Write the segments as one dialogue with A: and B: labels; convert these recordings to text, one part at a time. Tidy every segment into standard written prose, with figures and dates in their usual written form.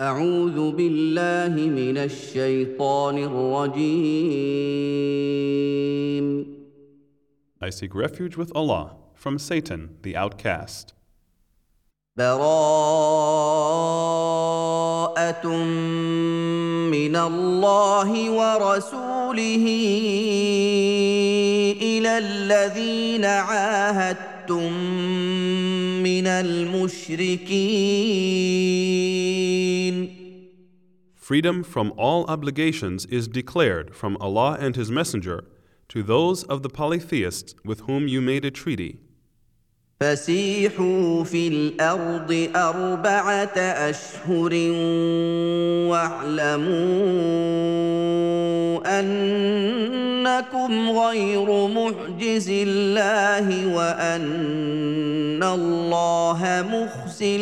A: أعوذ بالله من الشيطان الرجيم.
B: I seek refuge with Allah from Satan, the outcast.
A: براءة من الله ورسوله إلى الذين عاهدتم من المشركين.
B: Freedom from all obligations is declared from Allah and His Messenger to those of the polytheists with whom you made a treaty.
A: فسيحوا في الأرض أربعة أشهر واعلموا أنكم غير معجز الله وأن الله مخزي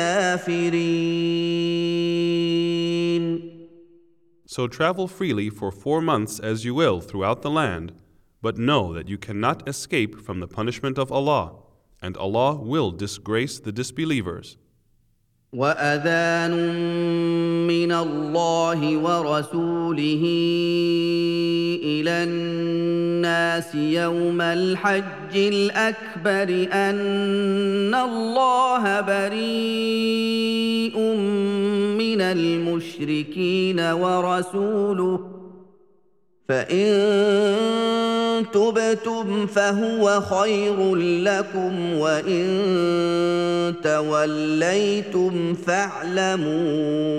A: الكافرين.
B: So travel freely for 4 months as you will throughout the land, but know that you cannot escape from the punishment of Allah, and Allah will disgrace the disbelievers.
A: وأذان من الله ورسوله إلى الناس يوم الحج الأكبر أن الله بريء من المشركين ورسوله فإن تبتم فهو خير لكم وإن توليتم فاعلموا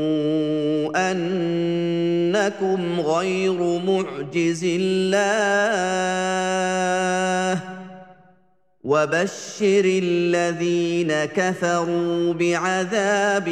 A: أنكم غير معجز الله وبشر الذين كفروا بعذاب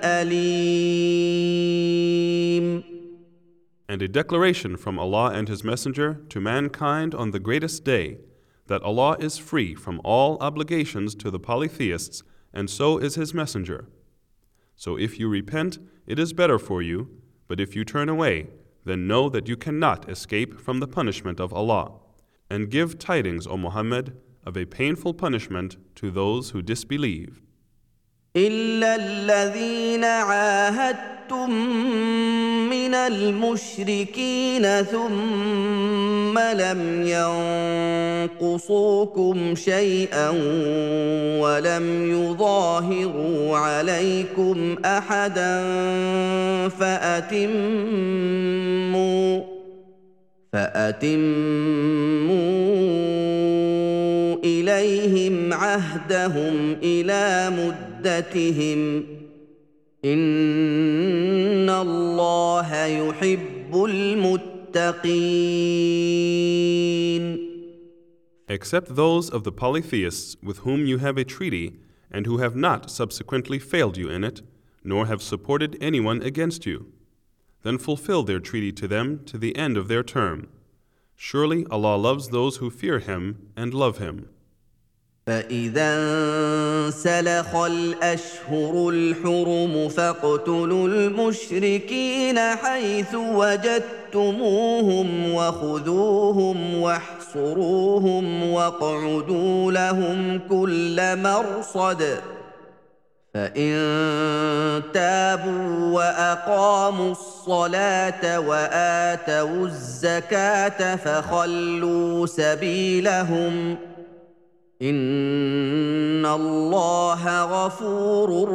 A: أليم.
B: And a declaration from Allah and His Messenger to mankind on the greatest day, that Allah is free from all obligations to the polytheists, and so is His Messenger. So if you repent, it is better for you, but if you turn away, then know that you cannot escape from the punishment of Allah. And give tidings, O Muhammad, of a painful punishment to those who disbelieve.
A: إلا الذين عاهدتم من المشركين ثم لم ينقصوكم شيئا ولم يظاهروا عليكم أحدا فأتموا إليهم عهدهم إلى مدتهم إن الله يحب المتقين.
B: Except those of the polytheists with whom you have a treaty, and who have not subsequently failed you in it, nor have supported anyone against you. Then fulfill their treaty to them to the end of their term. Surely Allah loves those who fear Him and love Him.
A: فإذا انسلخ الأشهر الحرم فاقتلوا المشركين حيث وجدتموهم وخذوهم واحصروهم واقعدوا لهم كل مرصد فإن تابوا وأقاموا الصلاة وآتوا الزكاة فخلوا سبيلهم إن الله غفور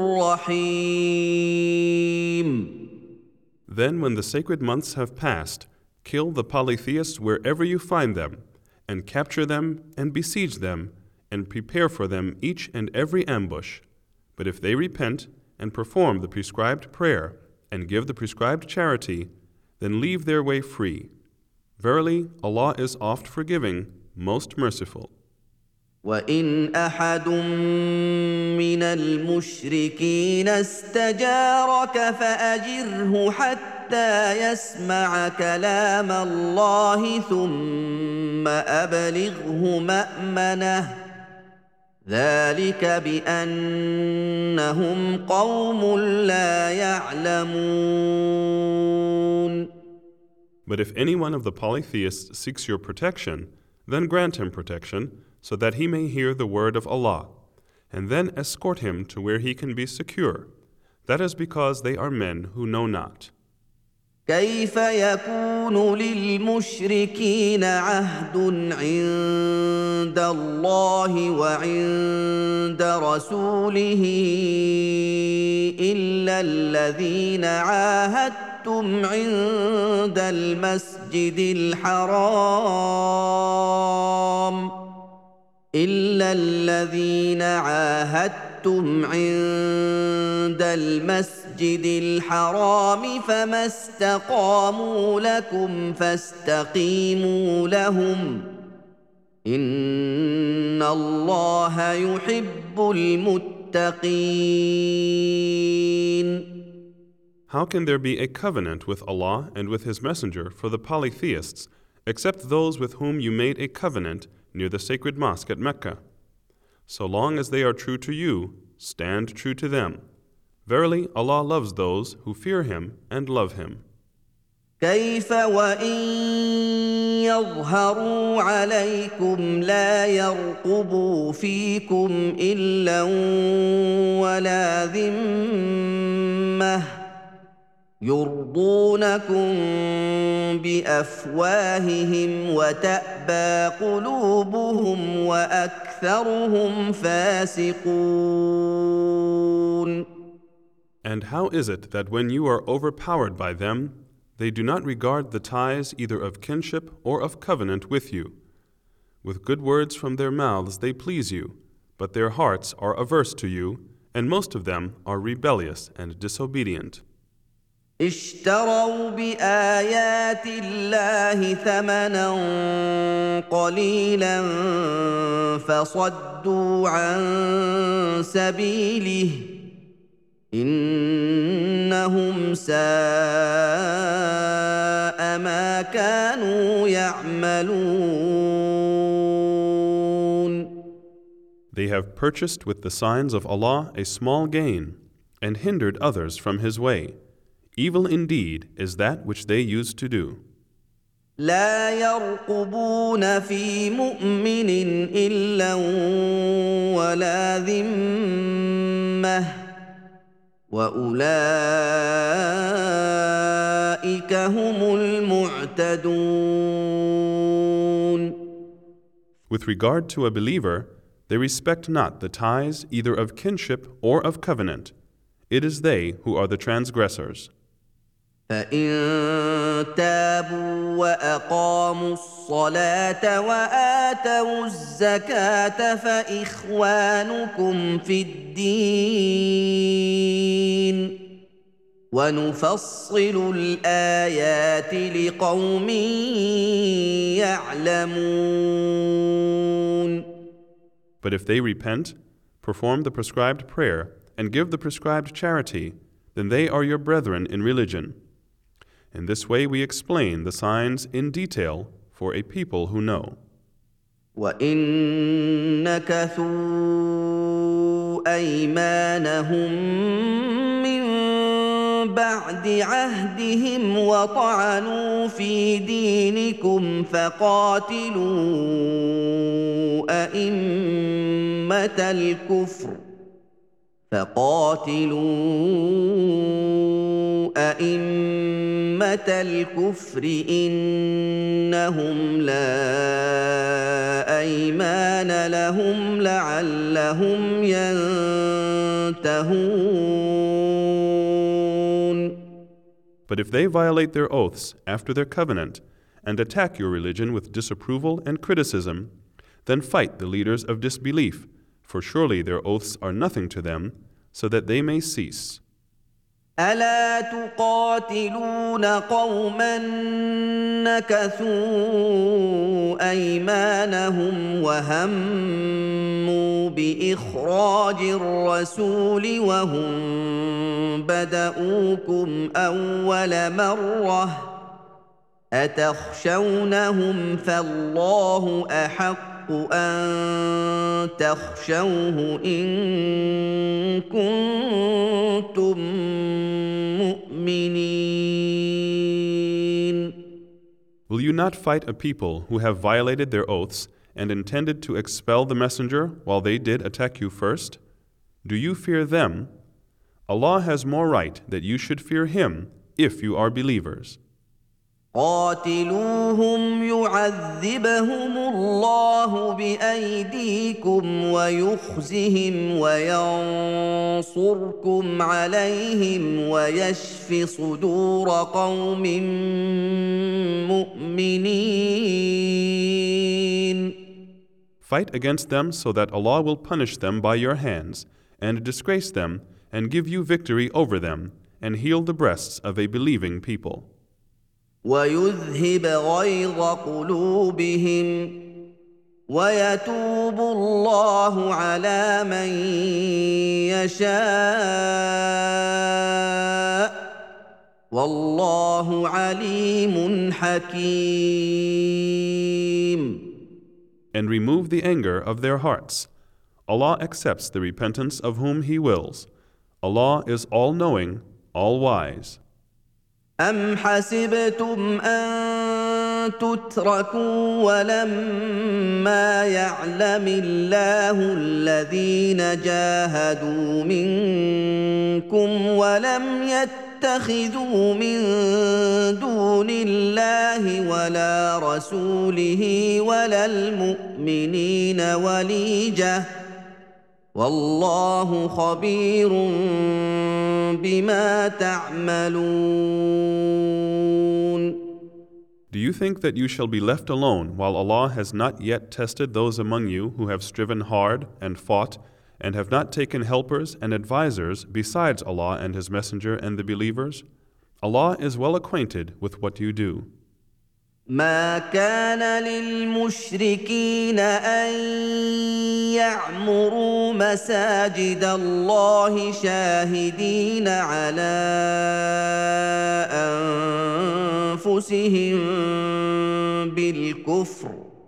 A: رحيم.
B: Then when the sacred months have passed, kill the polytheists wherever you find them, and capture them and besiege them, and prepare for them each and every ambush. But if they repent and perform the prescribed prayer and give the prescribed charity, then leave their way free. Verily, Allah is oft forgiving, most merciful.
A: وإن أحد من المشركين استجارك فأجره حتى يسمع كلام الله ثم أبلغه مأمنه ذلك بأنهم قوم لا يعلمون.
B: But if any one of the polytheists seeks your protection, then grant him protection, so that he may hear the word of Allah, and then escort him to where he can be secure.
A: That
B: is because they are men who know not.
A: كيف يكون للمشركين عهد عند الله وعند رسوله إلا الذين عاهدتم عند المسجد الحرام فما استقاموا لكم فاستقيموا لهم إن الله يحب المتقين.
B: How can there be a covenant with Allah and with His Messenger for the polytheists, except those with whom you made a covenant near the sacred mosque at Mecca? So long as they are true to you, stand true to them. Verily, Allah loves those who fear Him and love Him.
A: كيف وإن يظهروا عليكم لا يرقبوا فيكم إلا ولا ذمة يرضونكم بأفواههم وتأبى قلوبهم وأكثرهم فاسقون.
B: And how is it that when you are overpowered by them, they do not regard the ties either of kinship or of covenant with you? With good words from their mouths they please you, but their hearts are averse to you, and most of them are rebellious and disobedient.
A: اشتروا بآيات الله ثمنا قليلا فصدوا عن سبيله إنهم ساء ما كانوا يعملون.
B: They have purchased with the signs of Allah a small gain and hindered others from His way. Evil indeed is that which they used to do.
A: لا يرقبون في مؤمن إلا ولا ذمة وأولئك هم المعتدون.
B: With regard to a believer, they respect not the ties either of kinship or of covenant. It is they who are the transgressors.
A: فإن تابوا وأقاموا الصلاة وآتوا الزكاة فإخوانكم في الدين ونفصل الآيات لقوم يعلمون.
B: But if they repent, perform the prescribed prayer, and give the prescribed charity, then they are your brethren in religion. In this way we explain the signs in detail for a people who know.
A: وَإِن نَكَثُوا أَيْمَانَهُم مِّن بَعْدِ عَهْدِهِمْ وَطَعَنُوا فِي دِينِكُمْ فَقَاتِلُوا أئمة الكفر إنهم لا أيمان لهم لعلهم ينتهون.
B: But if they violate their oaths after their covenant and attack your religion with disapproval and criticism, then fight the leaders of disbelief, for surely their oaths are nothing to them, so that they may cease.
A: ألا تقاتلون قوما نكثوا أيمانهم وهموا بإخراج الرسول وهم بدؤوكم أول مرة أتخشونهم فالله أحق أن تخشوه إن كنتم مؤمنين.
B: Will you not fight a people who have violated their oaths and intended to expel the messenger while they did attack you first? Do you fear them? Allah has more right that you should fear Him if you are believers.
A: قاتلوهم يعذبهم الله بأيديكم ويخزهم وينصركم عليهم ويشف صدور قوم مؤمنين.
B: Fight against them so that Allah will punish them by your hands and disgrace them and give you victory over them and heal the breasts of a believing people.
A: ويذهب غيظ قلوبهم ويتوب الله على من يشاء والله عليم حكيم.
B: And remove the anger of their hearts. Allah accepts the repentance of whom He wills. Allah is all-knowing, all-wise.
A: أم حسبتم أن تتركوا ولما يعلم الله الذين جاهدوا منكم ولم يتخذوا من دون الله ولا رسوله ولا المؤمنين وليجة والله خبير بما تعملون.
B: Do you think that you shall be left alone while Allah has not yet tested those among you who have striven hard and fought and have not taken helpers and advisers besides Allah and His Messenger and the believers? Allah is well acquainted with what you do.
A: ما كان للمشركين أن يعمروا مساجد الله شاهدين على أنفسهم بالكفر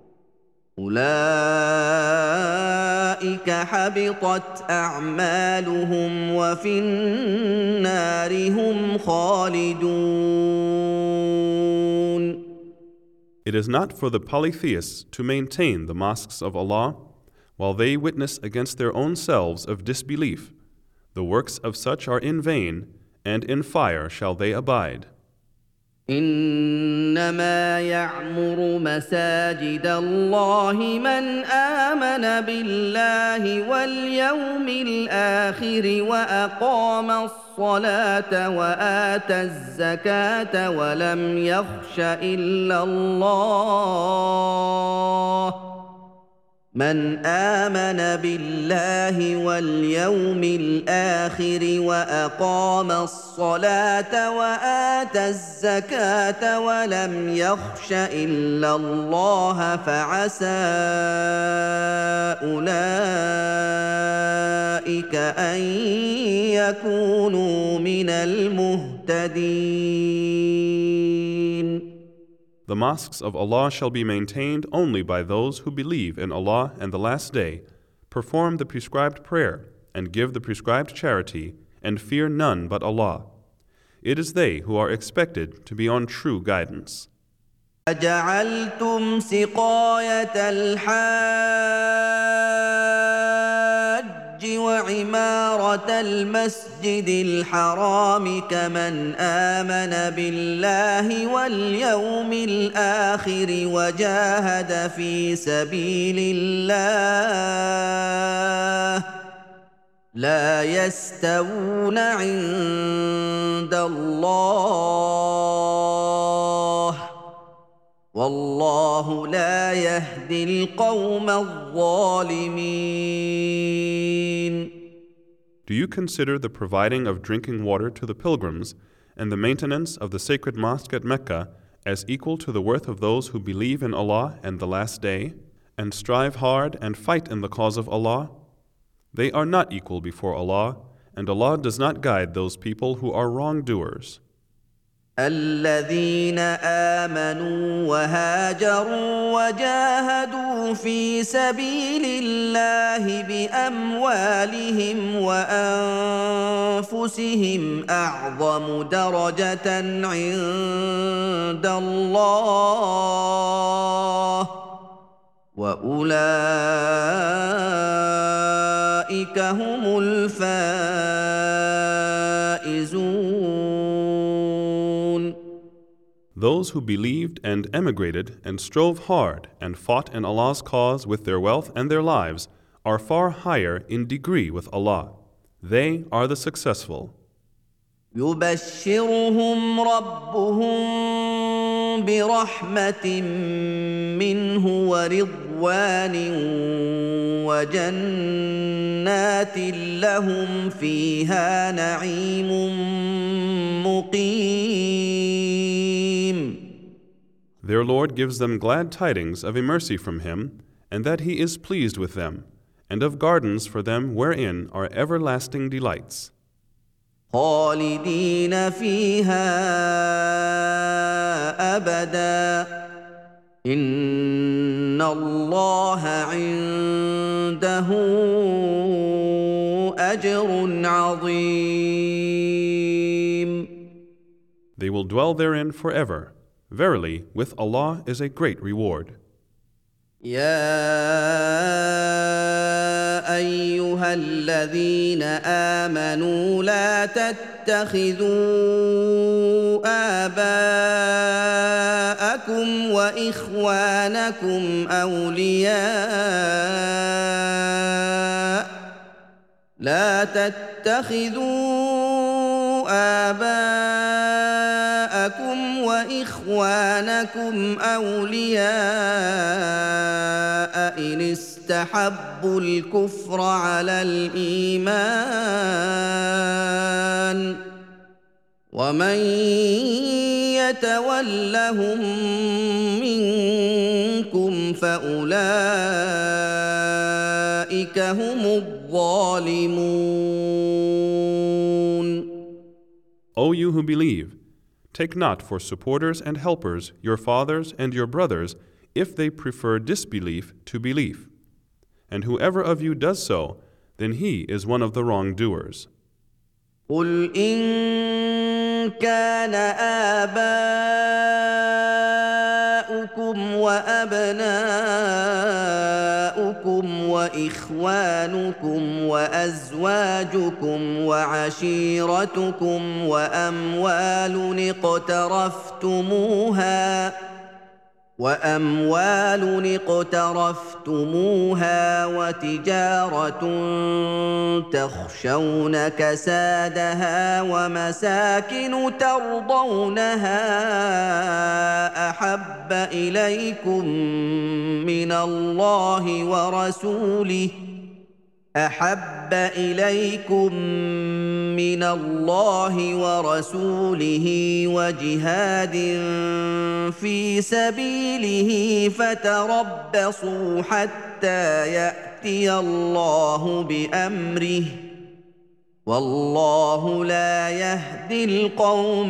A: أولئك حبطت أعمالهم وفي النار هم خالدون.
B: It is not for the polytheists to maintain the mosques of Allah while they witness against their own selves of disbelief. The works of such are in vain, and in fire shall they abide.
A: إنما يعمر مساجد الله من آمن بالله واليوم الآخر وأقام الصلاة وآتى الزكاة ولم يخش إلا الله من آمن بالله واليوم الآخر وأقام الصلاة وآتى الزكاة ولم يخش إلا الله فعسى أولئك أن يكونوا من المهتدين.
B: The mosques of Allah shall be maintained only by those who believe in Allah and the Last Day, perform the prescribed prayer, and give the prescribed charity, and fear none but Allah. It is they who are expected to be on true guidance.
A: أجعلتم سقاية الحاج وعمارة المسجد الحرام كمن آمن بالله واليوم الآخر وجاهد في سبيل الله لا يستوون عند الله والله لا يهدي القوم الظالمين.
B: Do you consider the providing of drinking water to the pilgrims and the maintenance of the sacred mosque at Mecca as equal to the worth of those who believe in Allah and the Last Day, and strive hard and fight in the cause of Allah? They are not equal before Allah, and Allah does not guide those people who are wrongdoers.
A: الذين آمنوا وهاجروا وجاهدوا في سبيل الله بأموالهم وأنفسهم أعظم درجة عند الله وأولئك أولئك هم الفائزون.
B: Those who believed and emigrated and strove hard and fought in Allah's cause with their wealth and their lives are far higher in degree with Allah. They are the successful.
A: يبشرهم ربهم برحمة منه ورضوان وجنات لهم فيها نعيم مقيم.
B: Their Lord gives them glad tidings of a mercy from Him, and that He is pleased with them, and of gardens for them wherein are everlasting delights.
A: خالدين فيها أبدا إن الله عنده أجر عظيم.
B: They will dwell therein forever. Verily, with Allah is a great reward.
A: يا أيها الذين آمنوا لا تتخذوا آباءكم وإخوانكم أولياء إن استحبوا الكفر على الإيمان ومن يتولهم منكم فأولئك هم الظالمون.
B: O you who believe, take not for supporters and helpers your fathers and your brothers if they prefer disbelief to belief. And whoever of you does so, then he is one of the wrongdoers.
A: قل إن كان آباؤكم وأبناؤكم وإخوانكم وأزواجكم وعشيرتكم وأموال اقترفتموها وتجارة تخشون كسادها ومساكن ترضونها أحب إليكم من الله ورسوله وجهاد في سبيله فتربصوا حتى يأتي الله بأمره والله لا يهدي القوم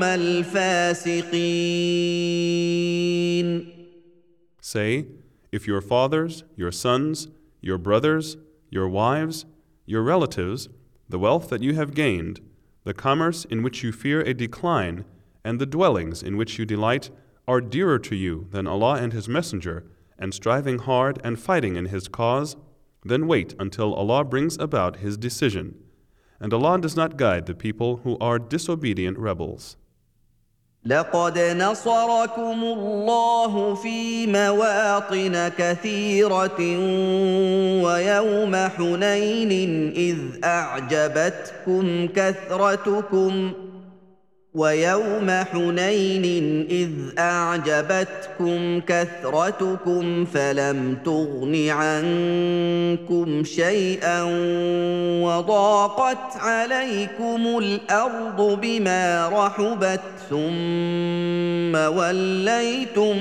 A: الفاسقين.
B: Say, if your fathers, your sons, your brothers, your wives, your relatives, the wealth that you have gained, the commerce in which you fear a decline, and the dwellings in which you delight are dearer to you than Allah and His Messenger, and striving hard and fighting in His cause, then wait until Allah brings about His decision. And Allah does not guide the people who are disobedient rebels.
A: لقد نصركم الله في مواطن كثيرة ويوم حنين إذ أعجبتكم كثرتكم فلم تغن عنكم شيئا وضاقت عليكم الأرض بما رحبت ثم وليتم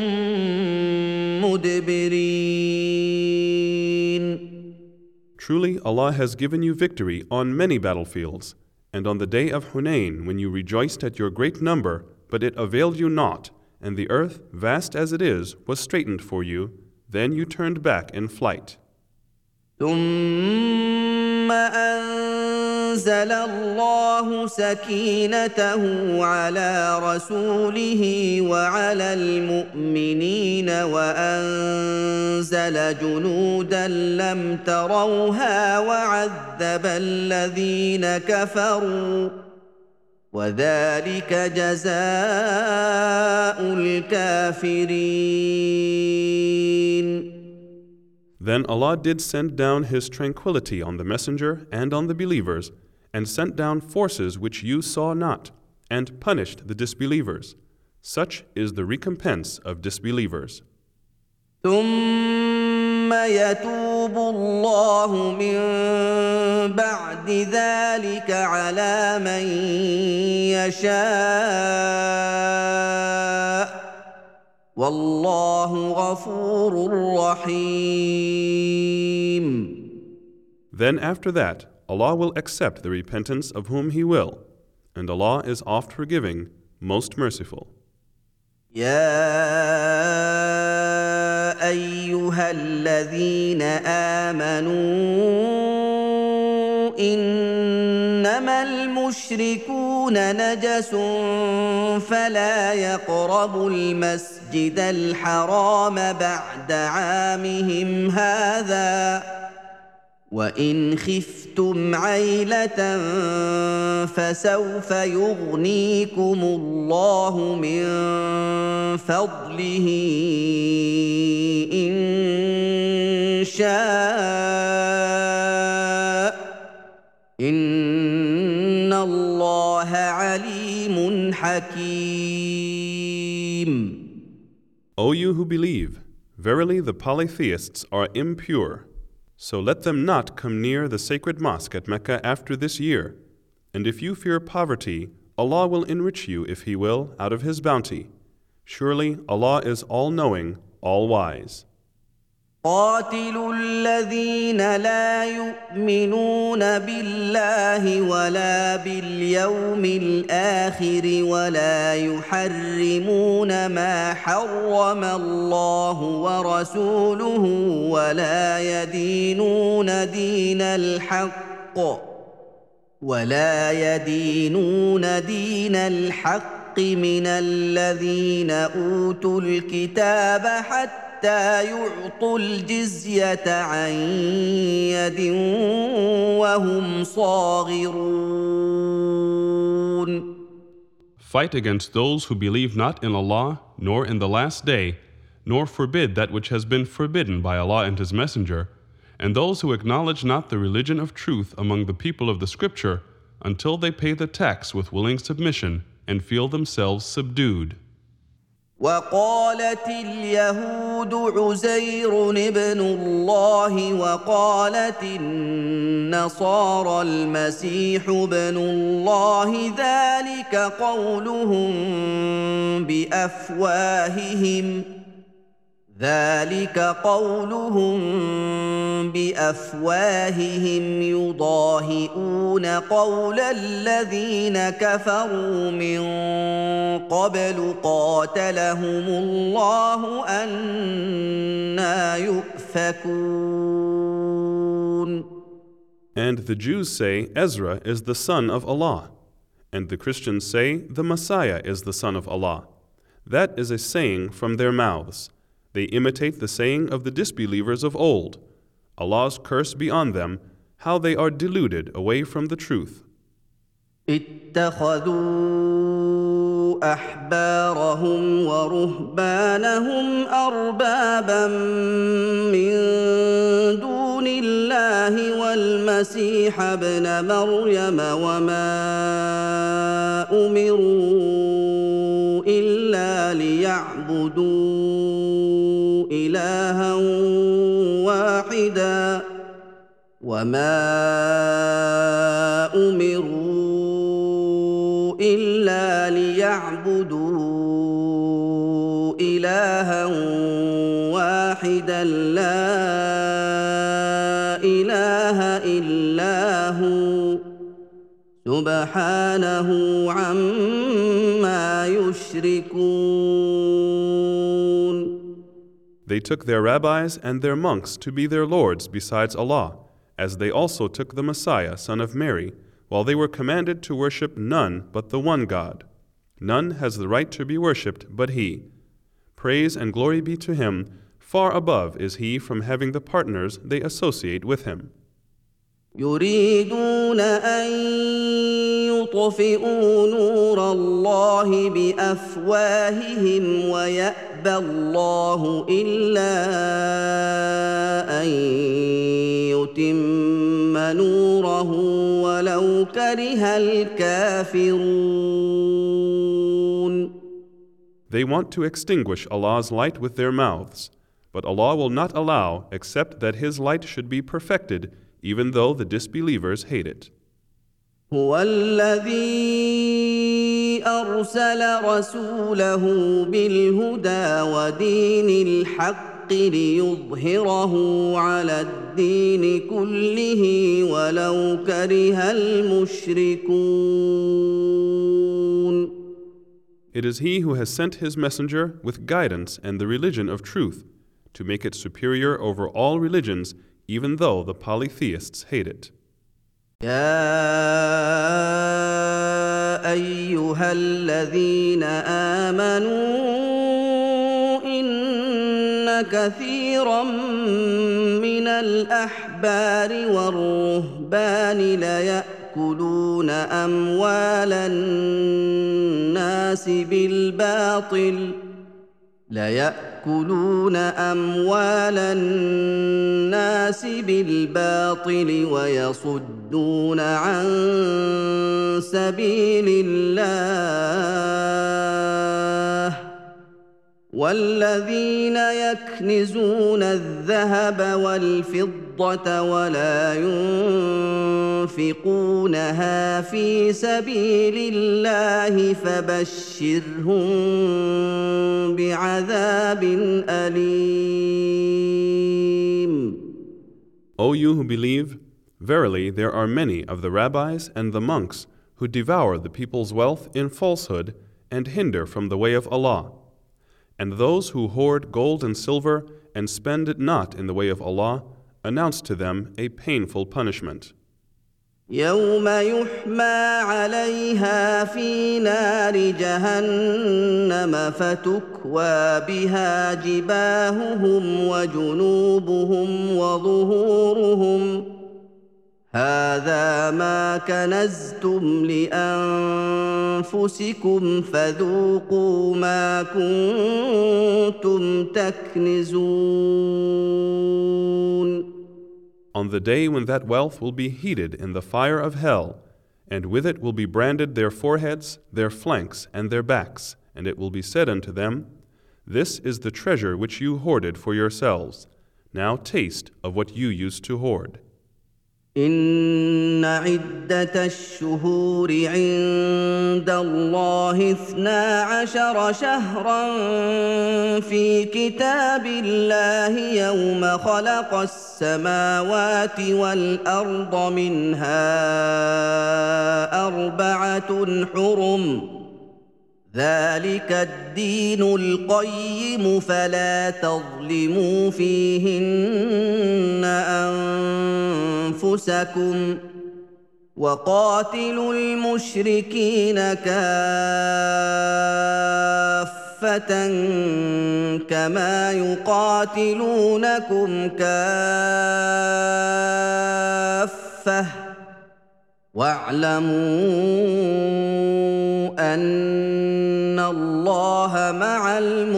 A: مدبرين.
B: Truly, Allah has given you victory on many battlefields, and on the day of Hunain, when you rejoiced at your great number, but it availed you not, and the earth, vast as it is, was straightened for you, then you turned back in flight.
A: ثم أنزل الله سكينته على رسوله وعلى المؤمنين وأنزل جنودا لم تروها وعذب الذين كفروا وذلك جزاء الكافرين.
B: Then Allah did send down His tranquility on the messenger and on the believers, and sent down forces which you saw not, and punished the disbelievers. Such is the recompense of disbelievers.
A: ثم يتوب الله من بعد ذلك على من يشاء والله غفور رحيم.
B: Then after that, Allah will accept the repentance of whom He will, and Allah is oft forgiving, most merciful.
A: يا أيها الذين آمنوا إنما المشركون نجس فلا يقربوا المسجد الحرام بعد عامهم هذا وإن خفتم عيلة فسوف يغنيكم الله من فضله إن شاء إن الله عليم حكيم.
B: O you who believe, verily the polytheists are impure. So let them not come near the sacred mosque at Mecca after this year. And if you fear poverty, Allah will enrich you if He will, out of His bounty. Surely Allah is all-knowing, all-wise.
A: قاتلوا الذين لا يؤمنون بالله ولا باليوم الآخر ولا يحرمون ما حرم الله ورسوله ولا يدينون دين الحق من الذين أوتوا الكتاب حتى يعطوا الجزية عن يد وهم صاغرون.
B: Fight against those who believe not in Allah, nor in the last day, nor forbid that which has been forbidden by Allah and His Messenger, and those who acknowledge not the religion of truth among the people of the Scripture, until they pay the tax with willing submission and feel themselves subdued.
A: وقالت اليهود عزير ابن الله وقالت النصارى المسيح ابن الله ذلك قولهم بأفواههم يضاهئون قول الذين كفروا من قبل قاتلهم الله أنى يؤفكون.
B: And the Jews say Ezra is the son of Allah, and the Christians say the Messiah is the son of Allah. That is a saying from their mouths. They imitate the saying of the disbelievers of old. Allah's curse be on them, how they are deluded away from the truth.
A: اتخذوا أحبارهم ورهبانهم أربابا من دون الله والمسيح ابن مريم وما أمروا إلا ليعبدوا إلها واحدا وما أمروا إلا ليعبدوا إلها واحدا لا إله إلا هو سبحانه عما يشركون.
B: They took their rabbis and their monks to be their lords besides Allah, as they also took the Messiah, son of Mary, while they were commanded to worship none but the one God. None has the right to be worshipped but He. Praise and glory be to Him. Far above is He from having the partners they associate with Him.
A: يريدون أن يطفئوا نور الله بأفواههم ويأبى الله إلا أن يتم نوره ولو كره الكافرون.
B: They want to extinguish Allah's light with their mouths, but Allah will not allow except that His light should be perfected, even though the disbelievers hate it.
A: هو الذي أرسل رسوله بالهدى ودين الحق ليظهره على الدين كله ولو كره المشركون.
B: It is He who has sent His messenger with guidance and the religion of truth, to make it superior over all religions, even though the polytheists hate it.
A: يا أيها الذين آمنوا إن كثيرا من الأحبار والرهبان ليأكلون أموال الناس بالباطل ويصدون عن سبيل الله والذين يكنزون الذهب والفضة ولا ينفقونها في سبيل الله فبشرهم بعذاب أليم.
B: O you who believe, verily there are many of the rabbis and the monks who devour the people's wealth in falsehood and hinder from the way of Allah. And those who hoard gold and silver and spend it not in the way of Allah, announce to them a painful punishment.
A: يوم يحمى عليها في نار جهنم فتكوى بها جباههم وجنوبهم وظهورهم هذا ما كنزتم لأنفسكم فذوقوا ما كنتم تكنزون.
B: On the day when that wealth will be heated in the fire of hell, and with it will be branded their foreheads, their flanks, and their backs, and it will be said unto them, This is the treasure which you hoarded for yourselves. Now taste of what you used to hoard.
A: إن عدة الشهور عند الله 12 شهرا في كتاب الله يوم خلق السماوات والأرض منها 4 حرم ذلك الدين القيم فلا تظلموا فيهن أنفسكم وقاتلوا المشركين كافة كما يقاتلونكم كافة واعلموا أن الله مع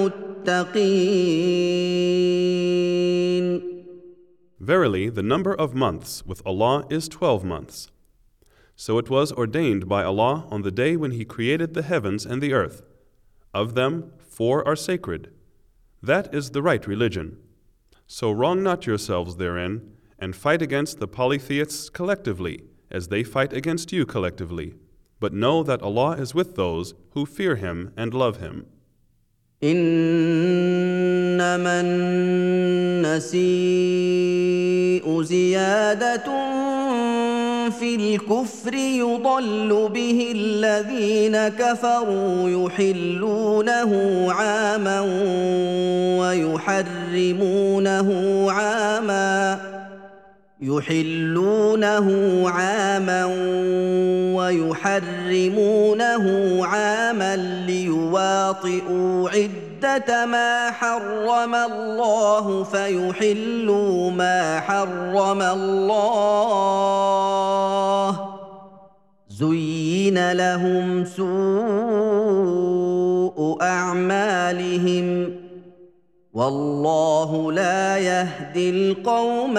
A: المتقين.
B: Verily, the number of months with Allah is 12 months. So it was ordained by Allah on the day when He created the heavens and the earth. Of them, 4 are sacred. That is the right religion. So wrong not yourselves therein, and fight against the polytheists collectively, as they fight against you collectively. But know that Allah is with those who fear Him and love Him.
A: إنما النسيء زيادة في الكفر يضل به الذين كفروا يحلونه عاما ويحرمونه يحلونه عاما ويحرمونه عاما ليواطئوا عدة ما حرم الله فيحلوا ما حرم الله زين لهم سوء أعمالهم والله لا يهدي القوم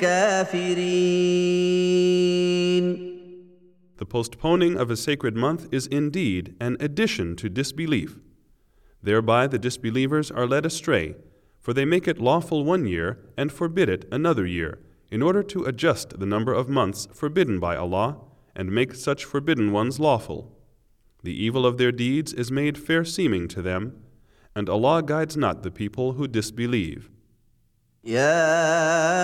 A: الكافرين.
B: The postponing of a sacred month is indeed an addition to disbelief. Thereby the disbelievers are led astray, for they make it lawful 1 year and forbid it another year, in order to adjust the number of months forbidden by Allah and make such forbidden ones lawful. The evil of their deeds is made fair-seeming to them, and Allah guides not the people who disbelieve.
A: يا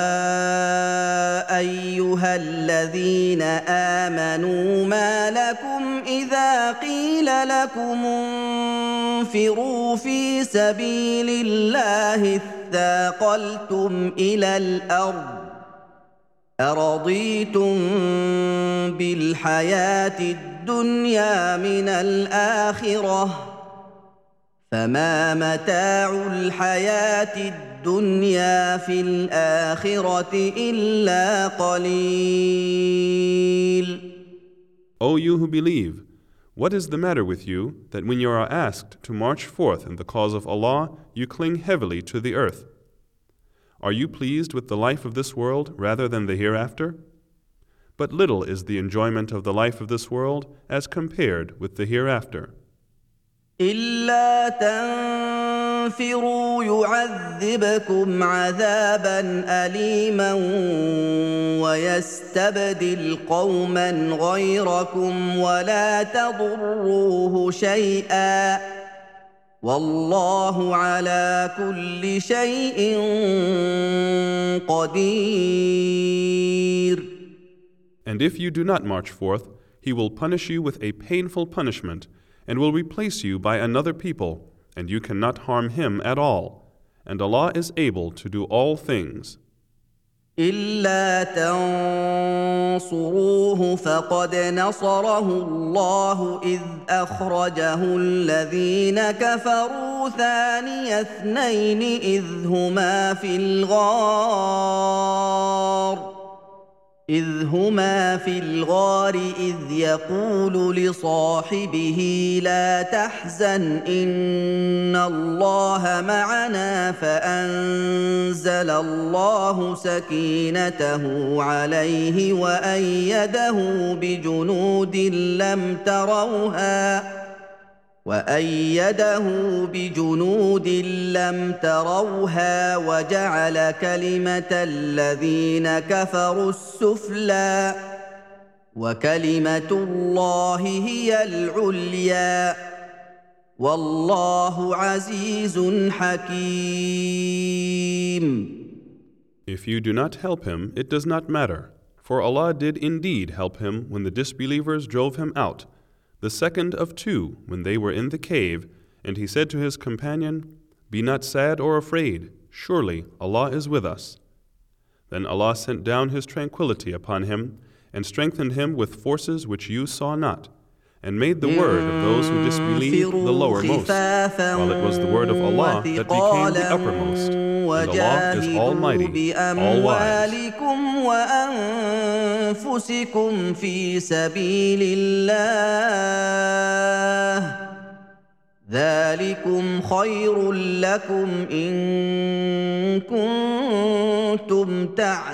A: أيها الذين آمنوا ما لكم إذا قيل لكم انفروا في سبيل الله اثاقلتم إلى الأرض أرضيتم بالحياة الدنيا من الآخرة فما متاع الحياة الدنيا في الآخرة إلا قليل.
B: O you who believe, what is the matter with you that when you are asked to march forth in the cause of Allah, you cling heavily to the earth? Are you pleased with the life of this world rather than the hereafter? But little is the enjoyment of the life of this world as compared with the hereafter.
A: إلا تنفروا يعذبكم عذابا أليما ويستبدل قوما غيركم ولا تضروه شيئا والله على كل شيء قدير.
B: And if you do not march forth, He will punish you with a painful punishment and will replace you by another people, and you cannot harm him at all. And Allah is able to do all things.
A: إلا تنصروه فقد نصره الله إذ أخرجه الذين كفروا ثاني اثنين إذ هما في الغار إذ يقول لصاحبه لا تحزن إن الله معنا فأنزل الله سكينته عليه وأيده بجنود لم تروها وجعل كلمة الذين كفروا السفلى وكلمة الله هي العليا والله عزيز حكيم.
B: If you do not help him, it does not matter, for Allah did indeed help him when the disbelievers drove him out, the second of two when they were in the cave, and he said to his companion, "Be not sad or afraid, surely Allah is with us." Then Allah sent down His tranquility upon him, and strengthened him with forces which you saw not, and made the word of those who disbelieved the lowermost, while it was the word of Allah that became the uppermost. And Allah is Almighty, All-Wise.
A: وأنفسكم في سبيل الله ذلكم خير لكم إن كنتم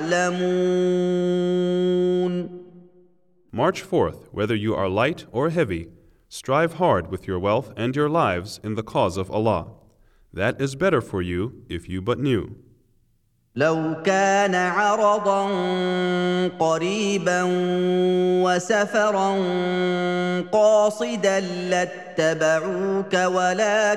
A: تعلمون.
B: March forth, whether you are light or heavy. Strive hard with your wealth and your lives in the cause of Allah. That is better for you if you but knew.
A: لو كان عرضا قريبا وسفرا قاصدا لاتبعوك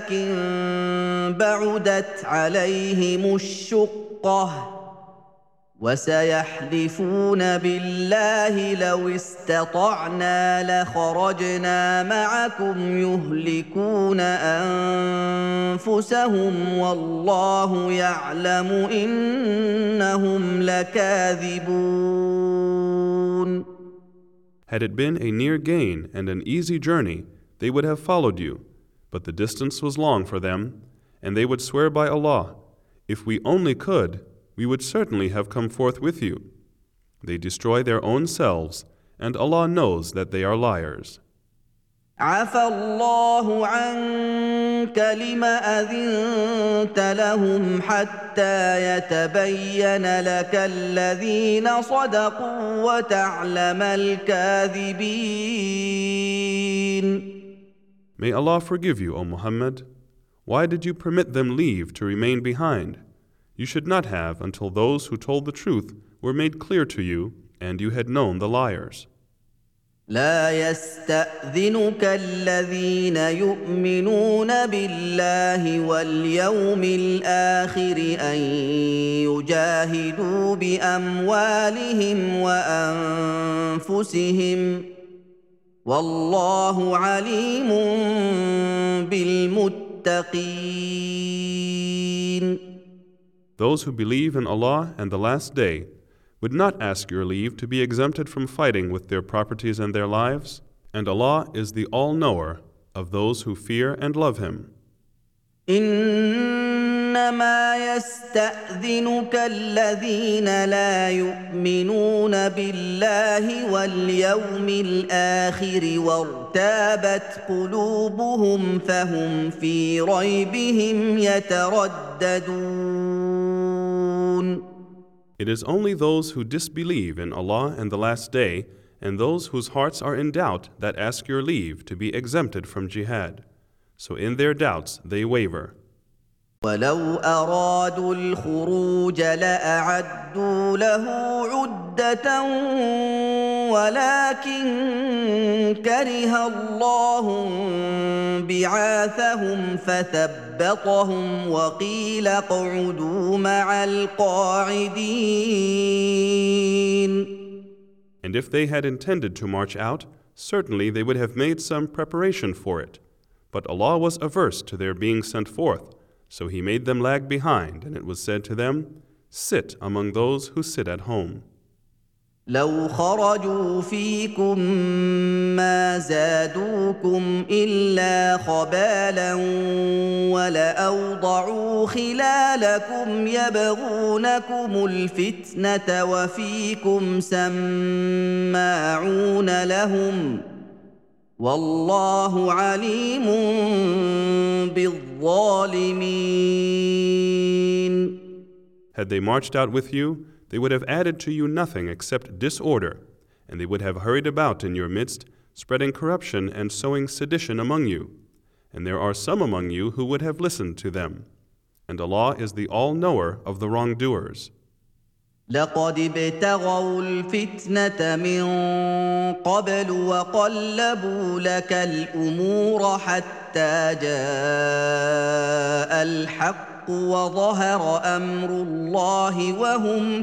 A: ولكن بعدت عليهم الشقة وسيحلفون بالله لو استطعنا لخرجنا معكم يهلكون انفسهم والله يعلم انهم لكاذبون.
B: Had it been a near gain and an easy journey, they would have followed you, but the distance was long for them, and they would swear by Allah, if we only could, we would certainly have come forth with you. They destroy their own selves, and Allah knows that they are liars.
A: عفى الله عنك لم أذنت لهم حتى يتبين لك الذين صدقوا وتعلم الكاذبين.
B: May Allah forgive you, O Muhammad. Why did you permit them leave to remain behind? You should not have until those who told the truth were made clear to you, and you had known the liars.
A: لا يستأذنك الذين يؤمنون بالله واليوم الآخر أن يجاهدوا بأموالهم وأنفسهم والله عليم بالمتقين.
B: Those who believe in Allah and the Last Day would not ask your leave to be exempted from fighting with their properties and their lives, and Allah is the all-knower of those who fear and love Him.
A: إنما يستأذنك الذين لا يؤمنون بالله واليوم الآخر وارتابت قلوبهم فهم في ريبهم يترددون.
B: It is only those who disbelieve in Allah and the Last Day and those whose hearts are in doubt that ask your leave to be exempted from jihad. So in their doubts they waver.
A: ولو أرادوا الخروج لأعدوا له عدة ولكن كره الله بعاثهم فثبطهم وقيل اقعدوا مع القاعدين.
B: And if they had intended to march out, certainly they would have made some preparation for it. But Allah was averse to their being sent forth, so He made them lag behind, and it was said to them, sit among those who sit at home.
A: لو خرجوا فيكم ما زادوكم إلا خبالا ولأوضعوا خلالكم يبغونكم الفتنة وفيكم سماعون لهم والله عليم بالظالمين.
B: Had they marched out with you, they would have added to you nothing except disorder, and they would have hurried about in your midst, spreading corruption and sowing sedition among you. And there are some among you who would have listened to them. And Allah is the all-knower of the wrongdoers.
A: لقد ابتغوا الفتنة من قبل وقلبوا لك الأمور حتى جاء الحق وظهر أمر الله وهم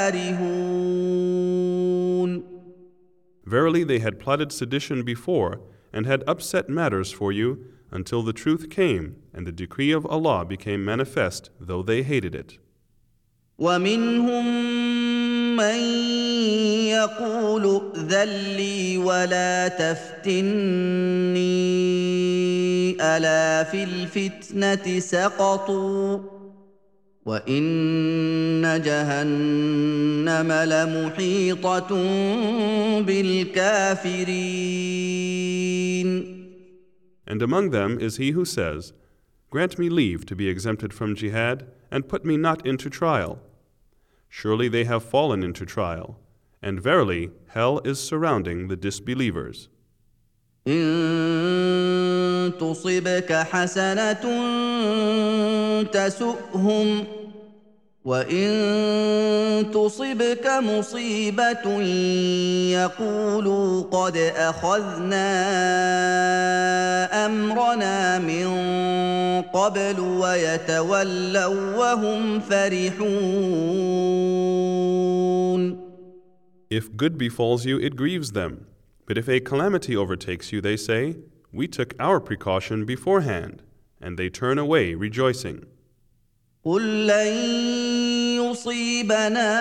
A: كارهون.
B: Verily they had plotted sedition before and had upset matters for you until the truth came and the decree of Allah became manifest, though they hated it.
A: ومنهم من يقول ائذن لي ولا تفتني ألا في الفتنة سقطوا وإن جهنم لمحيطة بالكافرين.
B: And among them is he who says, grant me leave to be exempted from jihad and put me not into trial. Surely they have fallen into trial, and verily hell is surrounding the disbelievers.
A: إن تصبك حسنة تسؤهم وَإِن تُصِبْكَ مُصِيبَةٌ يَقُولُوا قَدْ أَخَذْنَا أَمْرَنَا مِن قَبْلُ وَيَتَوَلَّوا وَّهُمْ فَرِحُونَ.
B: If good befalls you, it grieves them. But if a calamity overtakes you, they say, "We took our precaution beforehand," and they turn away rejoicing.
A: قُل لَّن يُصِيبَنَا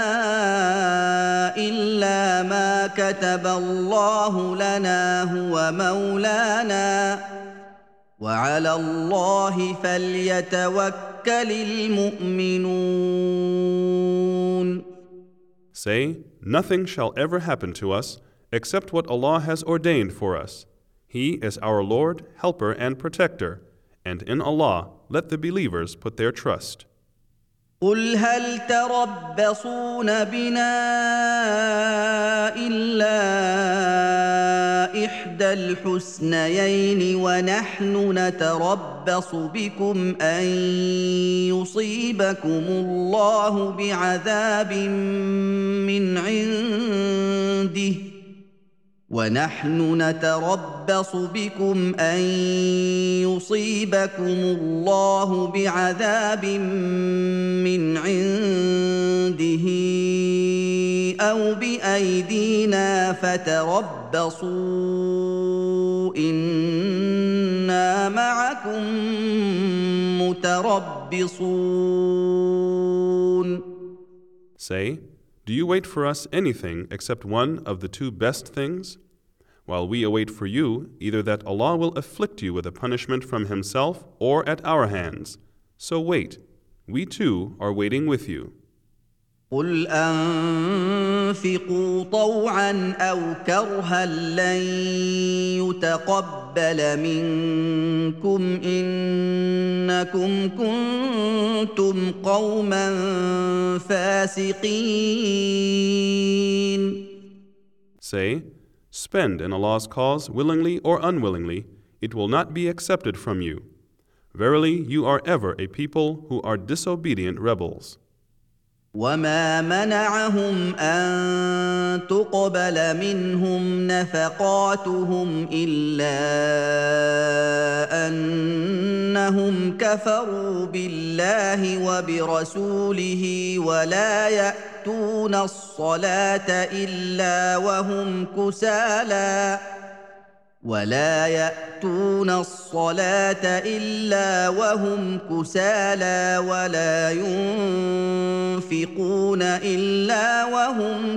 A: إِلَّا مَا كَتَبَ اللَّهُ لَنَا هُوَ مَوْلَانَا وَعَلَى اللَّهِ فَلْيَتَوَكَّلِ الْمُؤْمِنُونَ.
B: Say, "Nothing shall ever happen to us except what Allah has ordained for us. He is our Lord, Helper, and Protector, and in Allah let the believers put their trust."
A: قُلْ هَلْ تَرَبَّصُونَ بِنَا إِلَّا إِحْدَى الْحُسْنَيَيْنِ وَنَحْنُ نَتَرَبَّصُ بِكُمْ أَن يُصِيبَكُمُ اللَّهُ بعذاب من عنده ونحن نتربص بكم أن يصيبكم الله بعذاب من عنده أو بأيدينا فتربصوا إنا معكم متربصون.
B: Say, "Do you wait for us anything except one of the two best things? While we await for you either that Allah will afflict you with a punishment from Himself or at our hands. So wait, we too are waiting with you."
A: قُلْ أَنفِقُوا طَوْعًا أَوْ كَرْهًا لَّن يُتَقَبَّلَ مِنكُمْ إِنَّكُمْ كُنتُمْ قَوْمًا فَاسِقِينَ.
B: Say, "Spend in Allah's cause willingly or unwillingly, it will not be accepted from you. Verily, you are ever a people who are disobedient rebels."
A: وَمَا مَنَعَهُمْ أَن تُقْبَلَ مِنْهُمْ نَفَقَاتُهُمْ إِلَّا أَنَّهُمْ كَفَرُوا بِاللَّهِ وَبِرَسُولِهِ وَلَا يَأْتُونَ الصَّلَاةَ إِلَّا وَهُمْ كُسَالَىٰ وَلَا يُنفِقُونَ إِلَّا وَهُمْ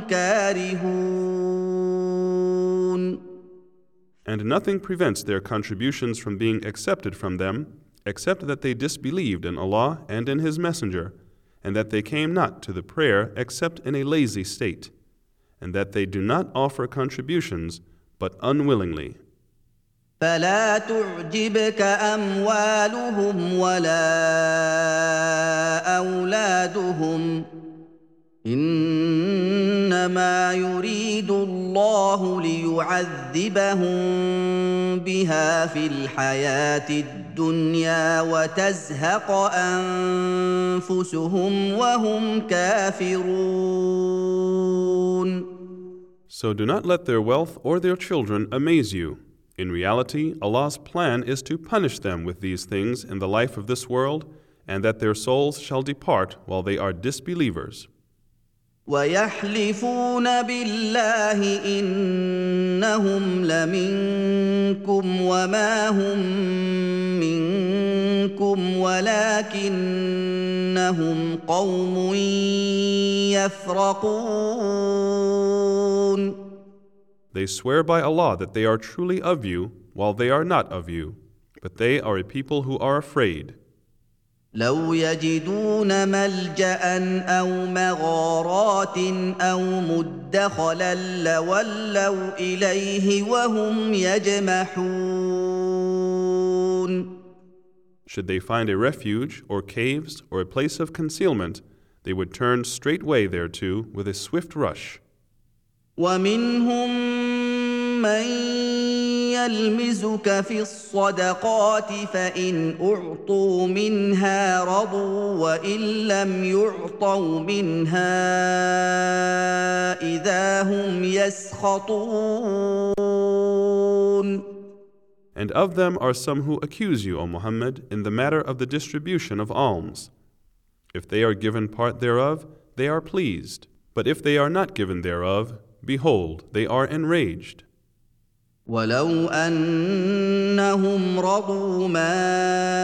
A: كَارِهُونَ.
B: And nothing prevents their contributions from being accepted from them, except that they disbelieved in Allah and in His Messenger, and that they came not to the prayer except in a lazy state, and that they do not offer contributions but unwillingly.
A: فَلَا تُعْجِبْكَ أَمْوَالُهُمْ وَلَا أَوْلَادُهُمْ إِنَّمَا يُرِيدُ اللَّهُ لِيُعَذِّبَهُم بِهَا فِي الْحَيَاةِ الدُّنْيَا وَتَزْهَقَ أَنفُسُهُمْ وَهُمْ كَافِرُونَ.
B: So do not let their wealth or their children amaze you. In reality, Allah's plan is to punish them with these things in the life of this world, and that their souls shall depart while they are disbelievers.
A: وَيَحْلِفُونَ بِاللَّهِ إِنَّهُمْ لَمِنكُمْ وَمَا هُم مِّنكُمْ وَلَٰكِنَّهُمْ قَوْمٌ يَفْرَقُونَ.
B: They swear by Allah that they are truly of you, while they are not of you, but they are a people who are afraid.
A: لو يجدون ملجأ أو مغارات أو مدخلا لولوا إليه وهم يجمحون.
B: Should they find a refuge, or caves, or a place of concealment, they would turn straightway thereto with a swift rush.
A: ومنهم من يلمزك في الصدقات فإن أعطوا منها رضوا وإن لم يعطوا منها إذا هم يسخطون.
B: And of them are some who accuse you, O Muhammad, in the matter of the distribution of alms. If they are given part thereof, they are pleased. But if they are not given thereof, behold, they are enraged.
A: ولو أنهم رضوا ما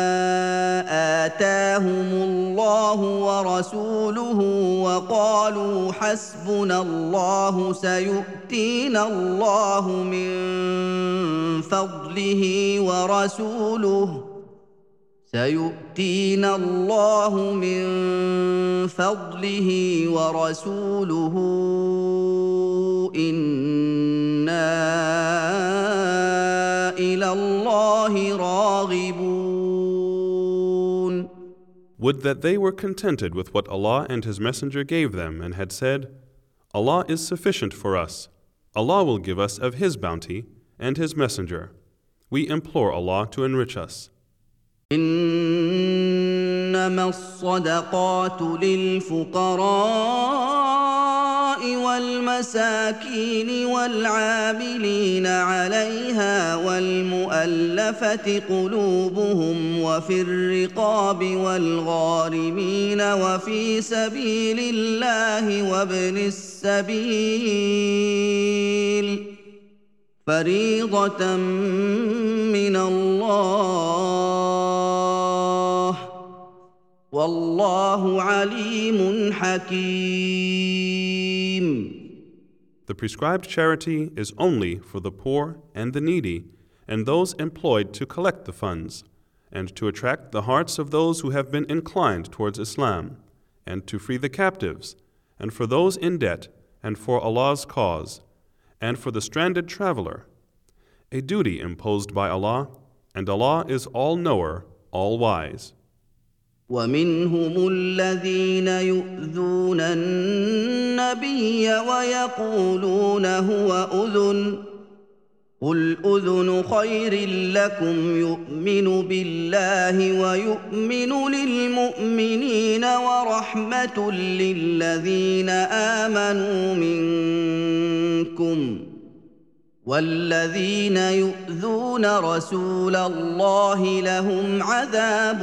A: آتاهم الله ورسوله وقالوا حسبنا الله سيؤتينا الله من فضله ورسوله إنا إلى الله راغبون.
B: Would that they were contented with what Allah and His Messenger gave them and had said, Allah is sufficient for us. Allah will give us of His bounty and His Messenger. We implore Allah to enrich us.
A: إنما الصدقات للفقراء والمساكين والعاملين عليها والمؤلفة قلوبهم وفي الرقاب والغارمين وفي سبيل الله وابن السبيل فريضة من الله والله عليم حكيم.
B: The prescribed charity is only for the poor and the needy and those employed to collect the funds and to attract the hearts of those who have been inclined towards Islam and to free the captives and for those in debt and for Allah's cause and for the stranded traveler, a duty imposed by Allah, and Allah is all-knower, all-wise.
A: ومنهم الذين يؤذون النبي ويقولون هو أذن قل أذن خير لكم يؤمن بالله ويؤمن للمؤمنين ورحمة للذين آمنوا منكم والذين يؤذون رسول الله لهم عذاب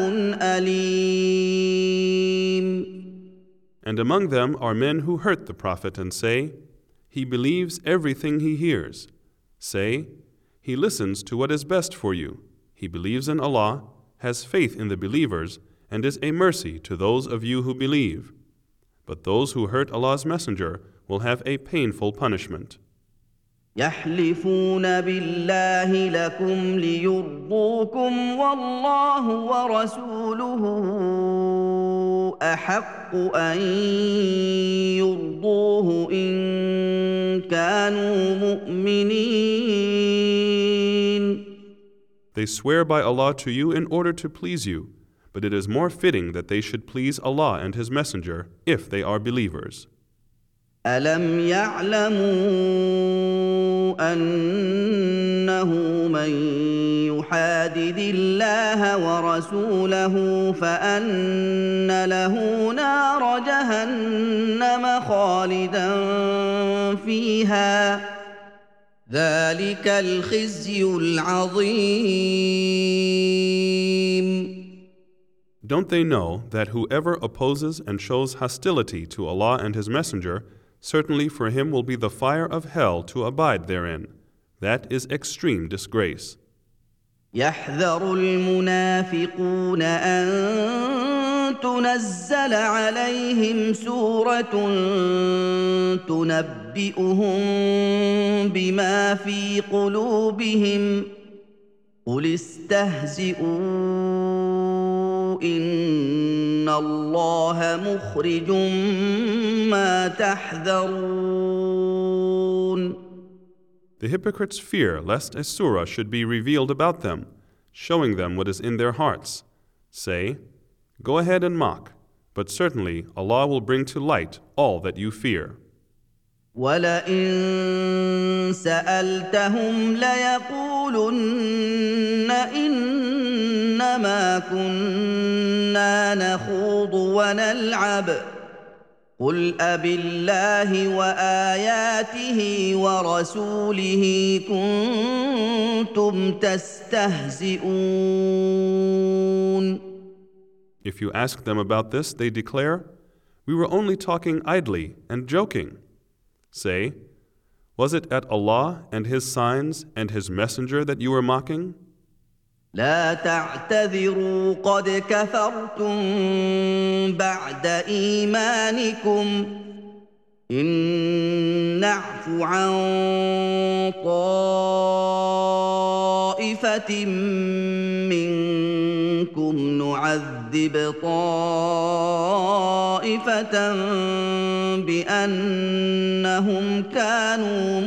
A: أليم.
B: And among them are men who hurt the Prophet and say, he believes everything he hears. Say, he listens to what is best for you. He believes in Allah, has faith in the believers, and is a mercy to those of you who believe. But those who hurt Allah's Messenger will have a painful punishment.
A: يحلفون بالله لكم ليرضوكم والله ورسوله أحق أن يرضوه إن كانوا مؤمنين.
B: They swear by Allah to you in order to please you, but it is more fitting that they should please Allah and His Messenger if they are believers.
A: ألم يعلموا أنه من يحادد الله ورسوله فأن له نار جهنم خالدا فيها ذلك الخزي العظيم.
B: Don't they know that whoever opposes and shows hostility to Allah and His Messenger, certainly for him will be the fire of hell to abide therein. That is extreme disgrace.
A: يحذر المنافقون أن تنزل عليهم سورة تنبئهم بما في قلوبهم قل استهزئوا إن الله مخرج ما تحذرون.
B: The hypocrites fear lest a surah should be revealed about them, showing them what is in their hearts. Say, go ahead and mock, but certainly Allah will bring to light all that you fear.
A: وَلَئِن سَأَلْتَهُمْ لَيَقُولُنَّ إِنَّمَا كُنَّا نَخُوضُ وَنَلْعَبُ ۚ قُلْ أَبِاللَّهِ وَآيَاتِهِ وَرَسُولِهِ كُنتُمْ تَسْتَهْزِئُونَ.
B: If you ask them about this, they declare, "We were only talking idly and joking." Say, "Was it at Allah and His signs and His messenger that you were mocking?"
A: لا تعتذروا قد كفرتم بعد إيمانكم إن نعف عن طائفة منكم نعذب طائفة بأنهم كانوا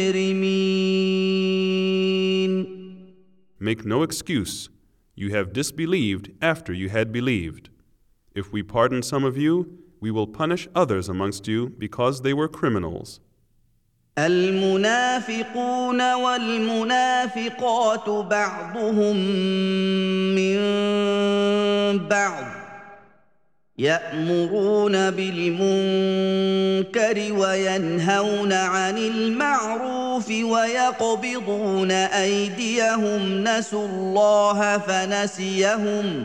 A: مجرمين.
B: Make no excuse. You have disbelieved after you had believed. If we pardon some of you, we will punish others amongst you because they were criminals.
A: المنافقون والمنافقات بعضهم من بعض يأمرون بالمنكر وينهون عن المعروف ويقبضون أيديهم نسوا الله فنسيهم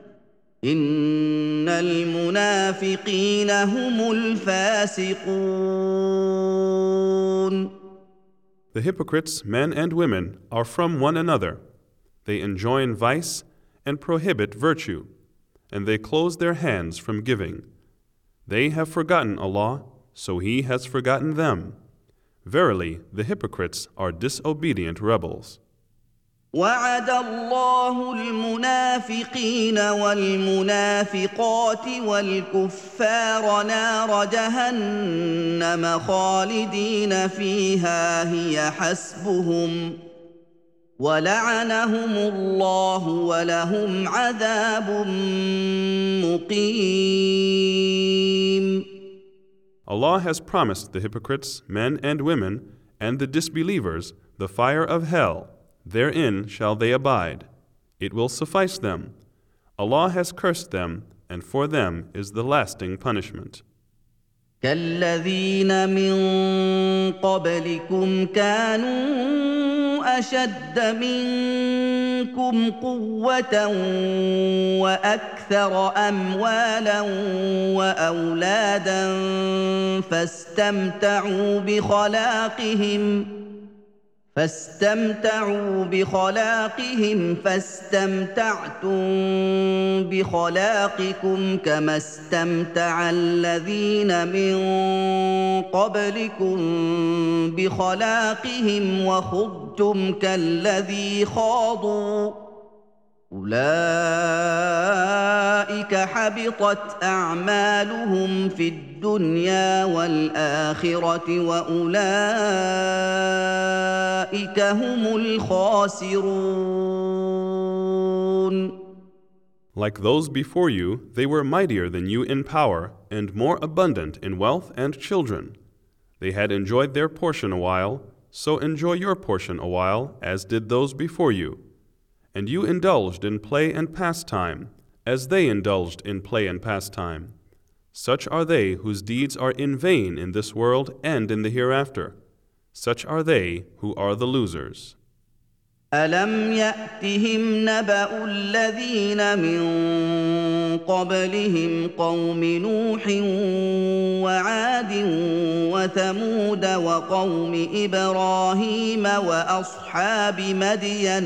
A: إن المنافقين هم الفاسقون.
B: The hypocrites, men and women, are from one another. They enjoin vice and prohibit virtue, and they close their hands from giving. They have forgotten Allah, so He has forgotten them. Verily, the hypocrites are disobedient rebels.
A: وعد الله المنافقين والمنافقات والكفار نار جهنم خالدين فيها هي حسبهم ولعنهم الله ولهم عذاب مقيم.
B: Allah has promised the hypocrites, men and women, and the disbelievers, the fire of hell. Therein shall they abide. It will suffice them. Allah has cursed them, and for them is the lasting punishment.
A: كالذين من قبلكم كانوا أشد منكم قوة وأكثر أموالا وأولادا فاستمتعوا بخلاقهم فاستمتعتم بخلاقكم كما استمتع الذين من قبلكم بخلاقهم وخضتم كالذي خاضوا أولئك حبطت أعمالهم في الدنيا والآخرة وأولئك هم الخاسرون.
B: Like those before you, they were mightier than you in power and more abundant in wealth and children. They had enjoyed their portion a while, so enjoy your portion a while, as did those before you. And you indulged in play and pastime, as they indulged in play and pastime. Such are they whose deeds are in vain in this world and in the hereafter. Such are they who are the losers.
A: أَلَمْ يَأْتِهِمْ نَبَأُ الَّذِينَ مِن قَبْلِهِمْ قَوْمِ نُوحٍ وَعَادٍ وَثَمُودَ وَقَوْمِ إِبْرَاهِيمَ وَأَصْحَابِ مَدْيَنَ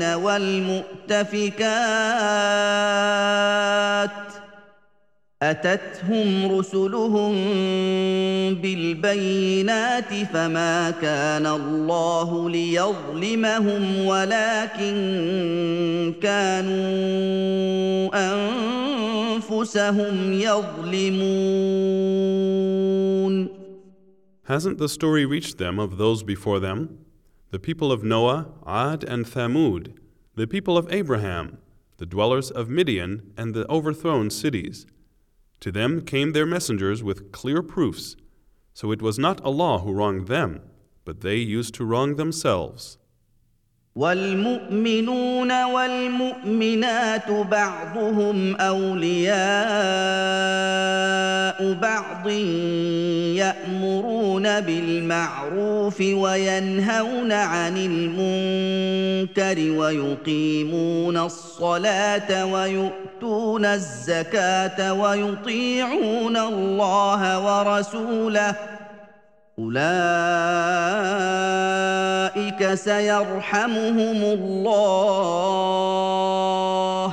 A: وَالْمُؤْتَفِكَاتِ أتتهم رسلهم بالبينات فما كان الله ليظلمهم ولكن كانوا أنفسهم يظلمون.
B: Hasn't the story reached them of those before them? The people of Noah, Ad and Thamud, the people of Abraham, the dwellers of Midian and the overthrown cities. To them came their messengers with clear proofs. So it was not Allah who wronged them, but they used to wrong themselves.
A: والمؤمنون والمؤمنات بعضهم أولياء بعض يأمرون بالمعروف وينهون عن المنكر ويقيمون الصلاة ويؤتون الزكاة ويطيعون الله ورسوله أولئك سيرحمهم الله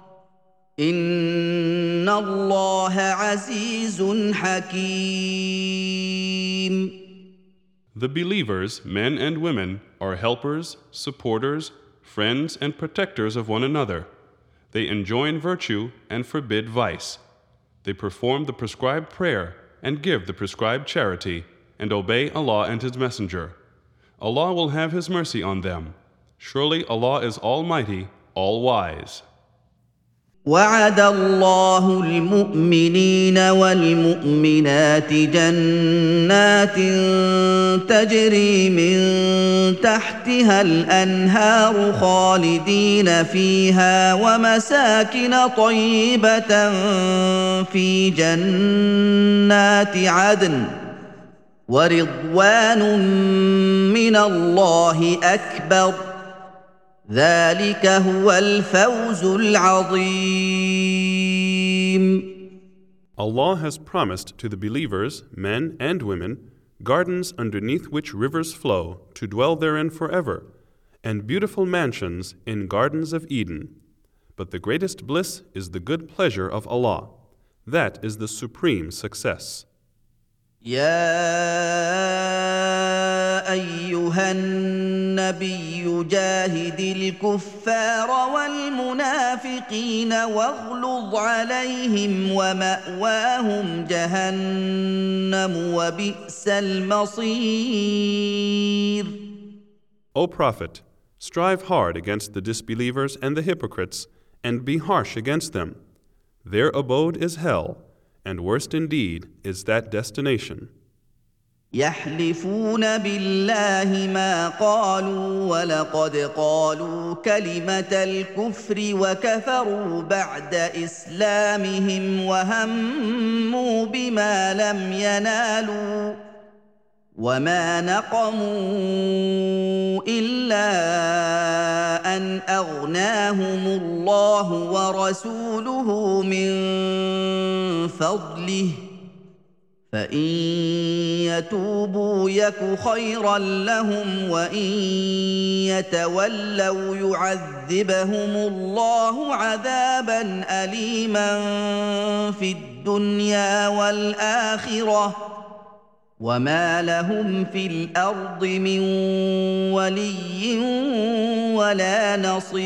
A: إن الله عزيز حكيم.
B: The believers, men and women, are helpers, supporters, friends, and protectors of one another. They enjoin virtue and forbid vice. They perform the prescribed prayer and give the prescribed charity, and obey Allah and His Messenger. Allah will have His mercy on them. Surely Allah is Almighty, All-Wise.
A: وعد الله المؤمنين والمؤمنات جنات تجري من تحتها الأنهار خالدين فيها ومساكن طيبة في جنات عدن ورضوان من الله أكبر ذلك هو الفوز العظيم.
B: Allah has promised to the believers, men and women, gardens underneath which rivers flow to dwell therein forever, and beautiful mansions in gardens of Eden. But the greatest bliss is the good pleasure of Allah. That is the supreme success.
A: يا أيها النبي جاهد الكفار والمنافقين واغلظ عليهم ومأواهم جهنم وبئس المصير.
B: O Prophet, strive hard against the disbelievers and the hypocrites, and be harsh against them. Their abode is hell, and worst indeed is that destination.
A: يحلفون بالله ما قالوا ولقد قالوا كلمة الكفر وكفروا بعد إسلامهم وهموا بما لم ينالوا وما نقموا إلا أن أغناهم الله ورسوله من فضله فإن يتوبوا يك خيرا لهم وإن يتولوا يعذبهم الله عذابا أليما في الدنيا والآخرة وما لهم في الأرض من ولي ولا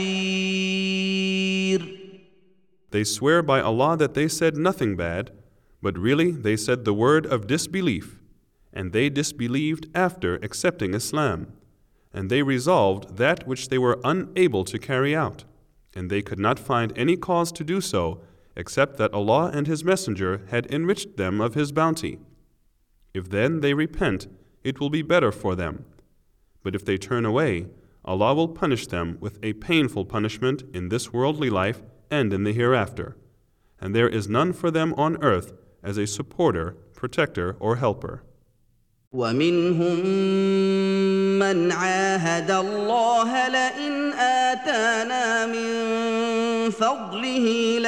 A: نصير.
B: They swear by Allah that they said nothing bad, but really they said the word of disbelief, and they disbelieved after accepting Islam, and they resolved that which they were unable to carry out, and they could not find any cause to do so except that Allah and His Messenger had enriched them of His bounty. If then they repent, it will be better for them. But if they turn away, Allah will punish them with a painful punishment in this worldly life and in the hereafter. And there is none for them on earth as a supporter, protector, or helper.
A: ومنهم من عاهد الله لئن آتانا من فضله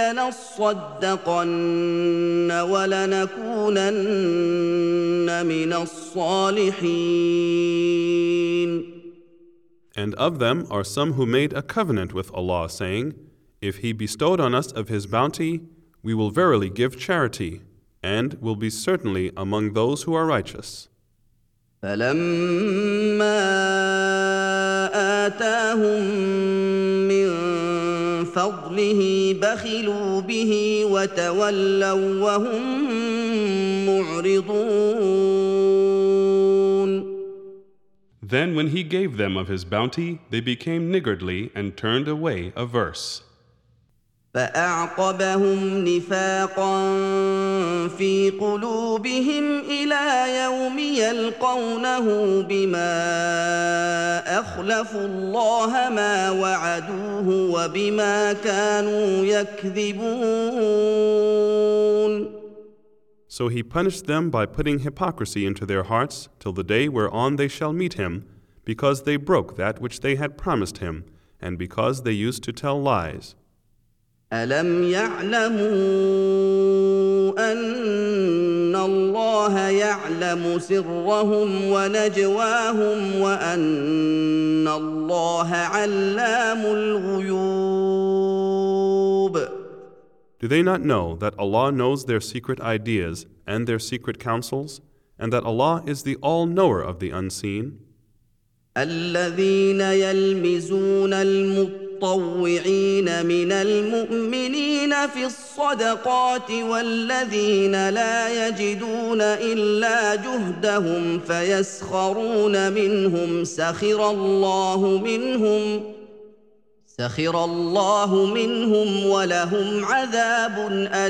A: لنصدقن ولنكونن من الصالحين.
B: And of them are some who made a covenant with Allah, saying, If He bestowed on us of His bounty, we will verily give charity, and will be certainly among those who are righteous.
A: فلما آتاهم من فضله بخلوا به وتولوا وهم معرضون.
B: Then when He gave them of His bounty, they became niggardly and turned away averse.
A: فأعقبهم نفاقا في قلوبهم إلى يوم يلقونه بما أخلفوا الله ما وعدوه وبما كانوا يكذبون.
B: So he punished them by putting hypocrisy into their hearts till the day whereon they shall meet him, because they broke that which they had promised him, and because they used to tell lies.
A: ألم يعلموا أن الله يعلم سرهم ونجواهم وأن الله علام الغيوب.
B: Do they not know that Allah knows their secret ideas and their secret counsels, and that Allah is the all-knower of the unseen?
A: الذين يلمزون المطوعين من المؤمنين في الصدقات والذين لا يجدون إلا جهدهم فيسخرون منهم سخر الله منهم ولهم عذاب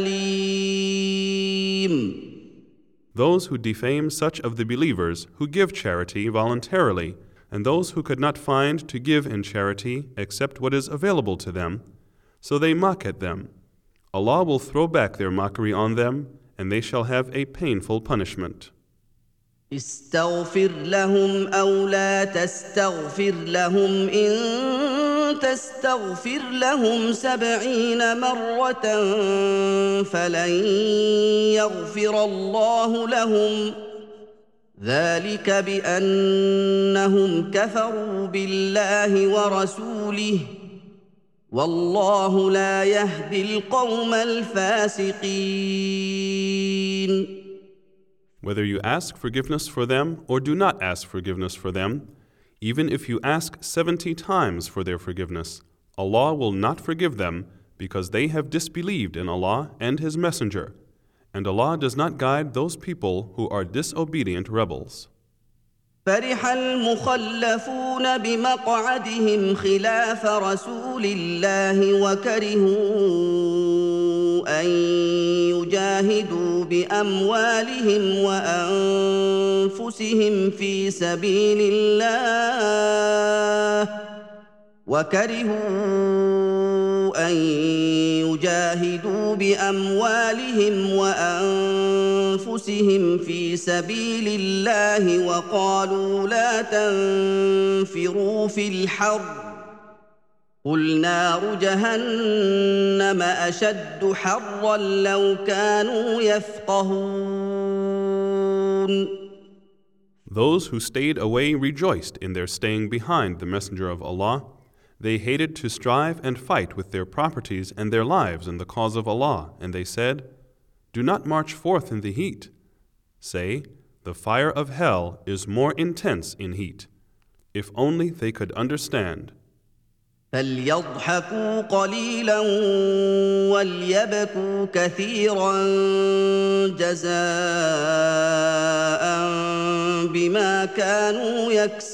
A: أليم.
B: Those who defame such of the believers who give charity voluntarily, and those who could not find to give in charity except what is available to them, so they mock at them. Allah will throw back their mockery on them, and they shall have a painful punishment.
A: استغفر لهم أو لا تستغفر لهم إن تستغفر لهم 70 مرة فلن يغفر الله لهم ذلك بأنهم كفروا بالله ورسوله والله لا يهدي القوم الفاسقين.
B: Whether you ask forgiveness for them or do not ask forgiveness for them, even if you ask 70 times for their forgiveness, Allah will not forgive them because they have disbelieved in Allah and His Messenger, and Allah does not guide those people who are disobedient rebels.
A: فرح المخلفون بمقعدهم خلاف رسول الله وكرهوا أن يجاهدوا بأموالهم وأنفسهم في سبيل الله وقالوا لا تنفروا في الحر قل نار جهنم أشد حرا لو كانوا يفقهون.
B: Those who stayed away rejoiced in their staying behind the Messenger of Allah. They hated to strive and fight with their properties and their lives in the cause of Allah, and they said, "Do not march forth in the heat." Say, the fire of hell is more intense in heat. If only they could understand.
A: فليضحكوا قليلا وليبكوا كثيرا جزاء بما كانوا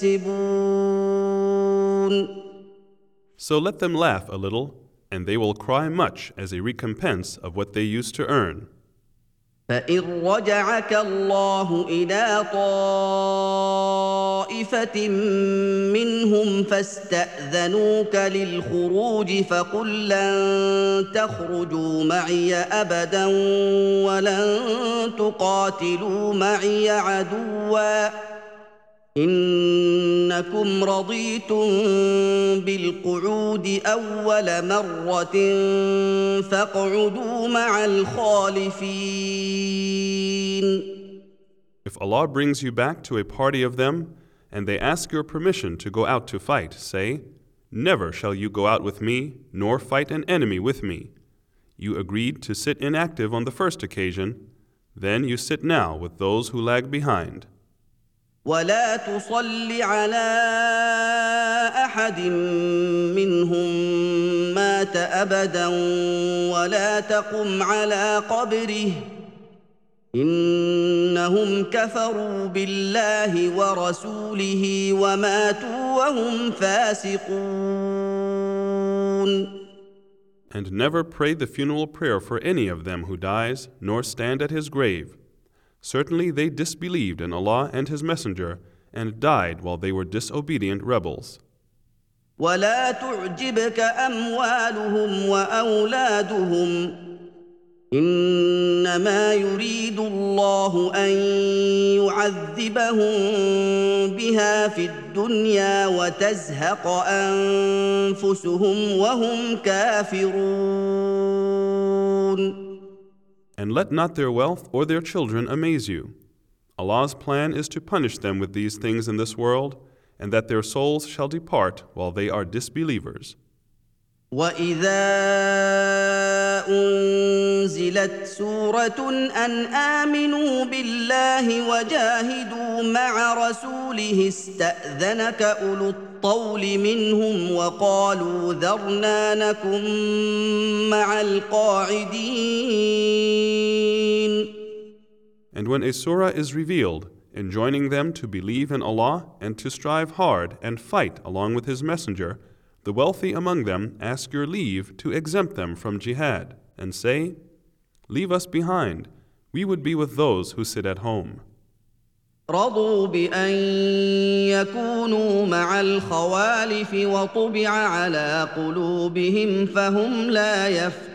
A: يكسبون.
B: So let them laugh a little, and they will cry much as a recompense of what they used to earn.
A: فإن رجعك الله إلى طائفة منهم فاستأذنوك للخروج فقل لن تخرجوا معي أبدا ولن تقاتلوا معي عدوا إنكم رضيتم بالقعود أول مرة فاقعدوا مع الخالفين.
B: If Allah brings you back to a party of them, and they ask your permission to go out to fight, say, "Never shall you go out with me, nor fight an enemy with me." You agreed to sit inactive on the first occasion, then you sit now with those who lag behind.
A: ولا تصل على أحد منهم مات أبدا ولا تقم على قبره إنهم كفروا بالله ورسوله وماتوا وهم فاسقون.
B: And never pray the funeral prayer for any of them who dies, nor stand at his grave. Certainly they disbelieved in Allah and His Messenger, and died while they were disobedient rebels.
A: ولا تعجبك أموالهم وأولادهم إنما يريد الله أن يعذبهم بها في الدنيا وتزهق أنفسهم وهم كافرون.
B: And let not their wealth or their children amaze you. Allah's plan is to punish them with these things in this world, and that their souls shall depart while they are disbelievers.
A: وَإِذَا أُنزِلَتْ سُورَةٌ أَنْ آمِنُوا بِاللَّهِ وَجَاهِدُوا مَعَ رَسُولِهِ اسْتَأْذَنَكَ أُولُو الطَّوْلِ مِنْهُمْ وَقَالُوا ذَرْنَا نَكُن مَّعَ الْقَاعِدِينَ.
B: And when a surah is revealed, enjoining them to believe in Allah and to strive hard and fight along with His Messenger, the wealthy among them ask your leave to exempt them from jihad, and say, "Leave us behind, we would be with those who sit at home."
A: رضوا بأن يكونوا مع الخوالف وطبع على قلوبهم فهم لا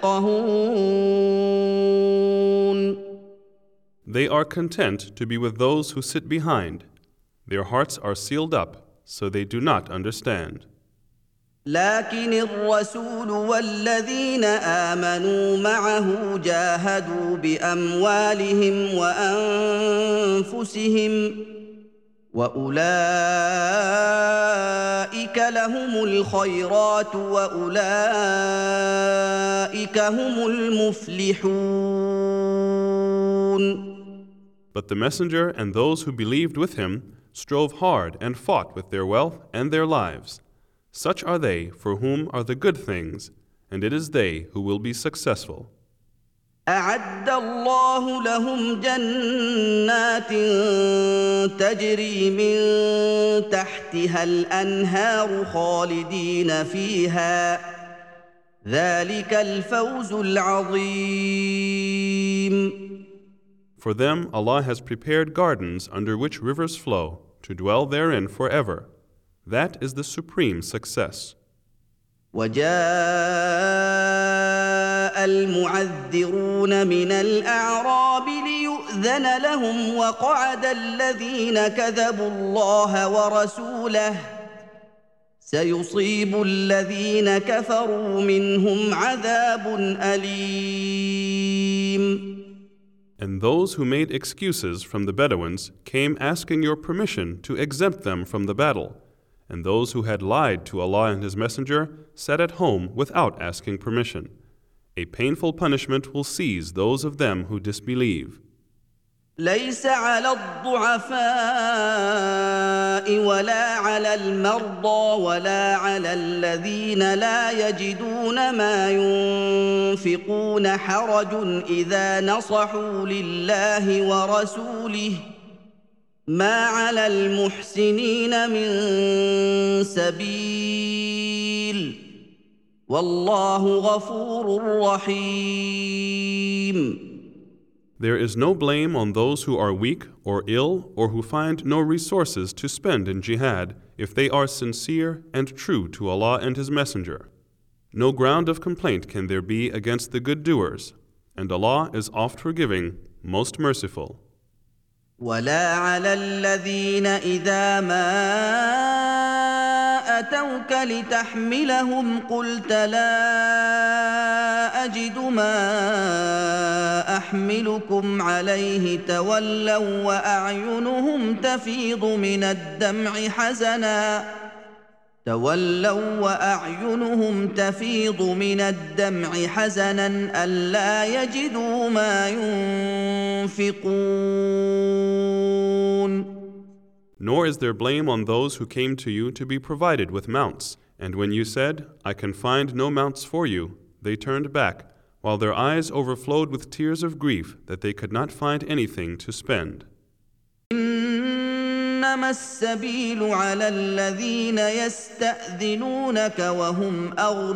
A: يفقهون.
B: They are content to be with those who sit behind. Their hearts are sealed up, so they do not understand.
A: لكن الرسول والذين آمنوا معه جاهدوا بأموالهم وأنفسهم وأولئك لهم الخيرات وأولئك هم المفلحون.
B: But the Messenger and those who believed with him strove hard and fought with their wealth and their lives. Such are they for whom are the good things, and it is they who will be successful.
A: أعد الله لهم جنات تجري من تحتها الأنهار خالدين فيها ذلك الفوز العظيم.
B: For them Allah has prepared gardens under which rivers flow, to dwell therein forever. That is the supreme success.
A: وجاء المعذرون من الأعراب ليؤذن لهم وقعد الذين كذبوا الله ورسوله سيصيب الذين كفروا منهم عذاب أليم.
B: And those who made excuses from the Bedouins came asking your permission to exempt them from the battle. And those who had lied to Allah and His Messenger sat at home without asking permission. A painful punishment will seize those of them who disbelieve.
A: ليس على الضعفاء ولا على المرضى ولا على الذين لا يجدون ما ينفقون حرج إذا نصحوا لله ورسوله ما على المحسنين من سبيل والله غفور رحيم.
B: There is no blame on those who are weak or ill or who find no resources to spend in jihad if they are sincere and true to Allah and His Messenger. No ground of complaint can there be against the good doers, and Allah is oft forgiving, most merciful.
A: ولا على الذين إذا ما أتوك لتحملهم قلت لا أجد ما أحملكم عليه تولوا وأعينهم تفيض من الدمع حزنا ألا يجدوا ما ينفقون.
B: Nor is there blame on those who came to you to be provided with mounts, and when you said, "I can find no mounts for you," they turned back, while their eyes overflowed with tears of grief that they could not find anything to spend.
A: إنما السبيل على الذين يستأذنونك وهم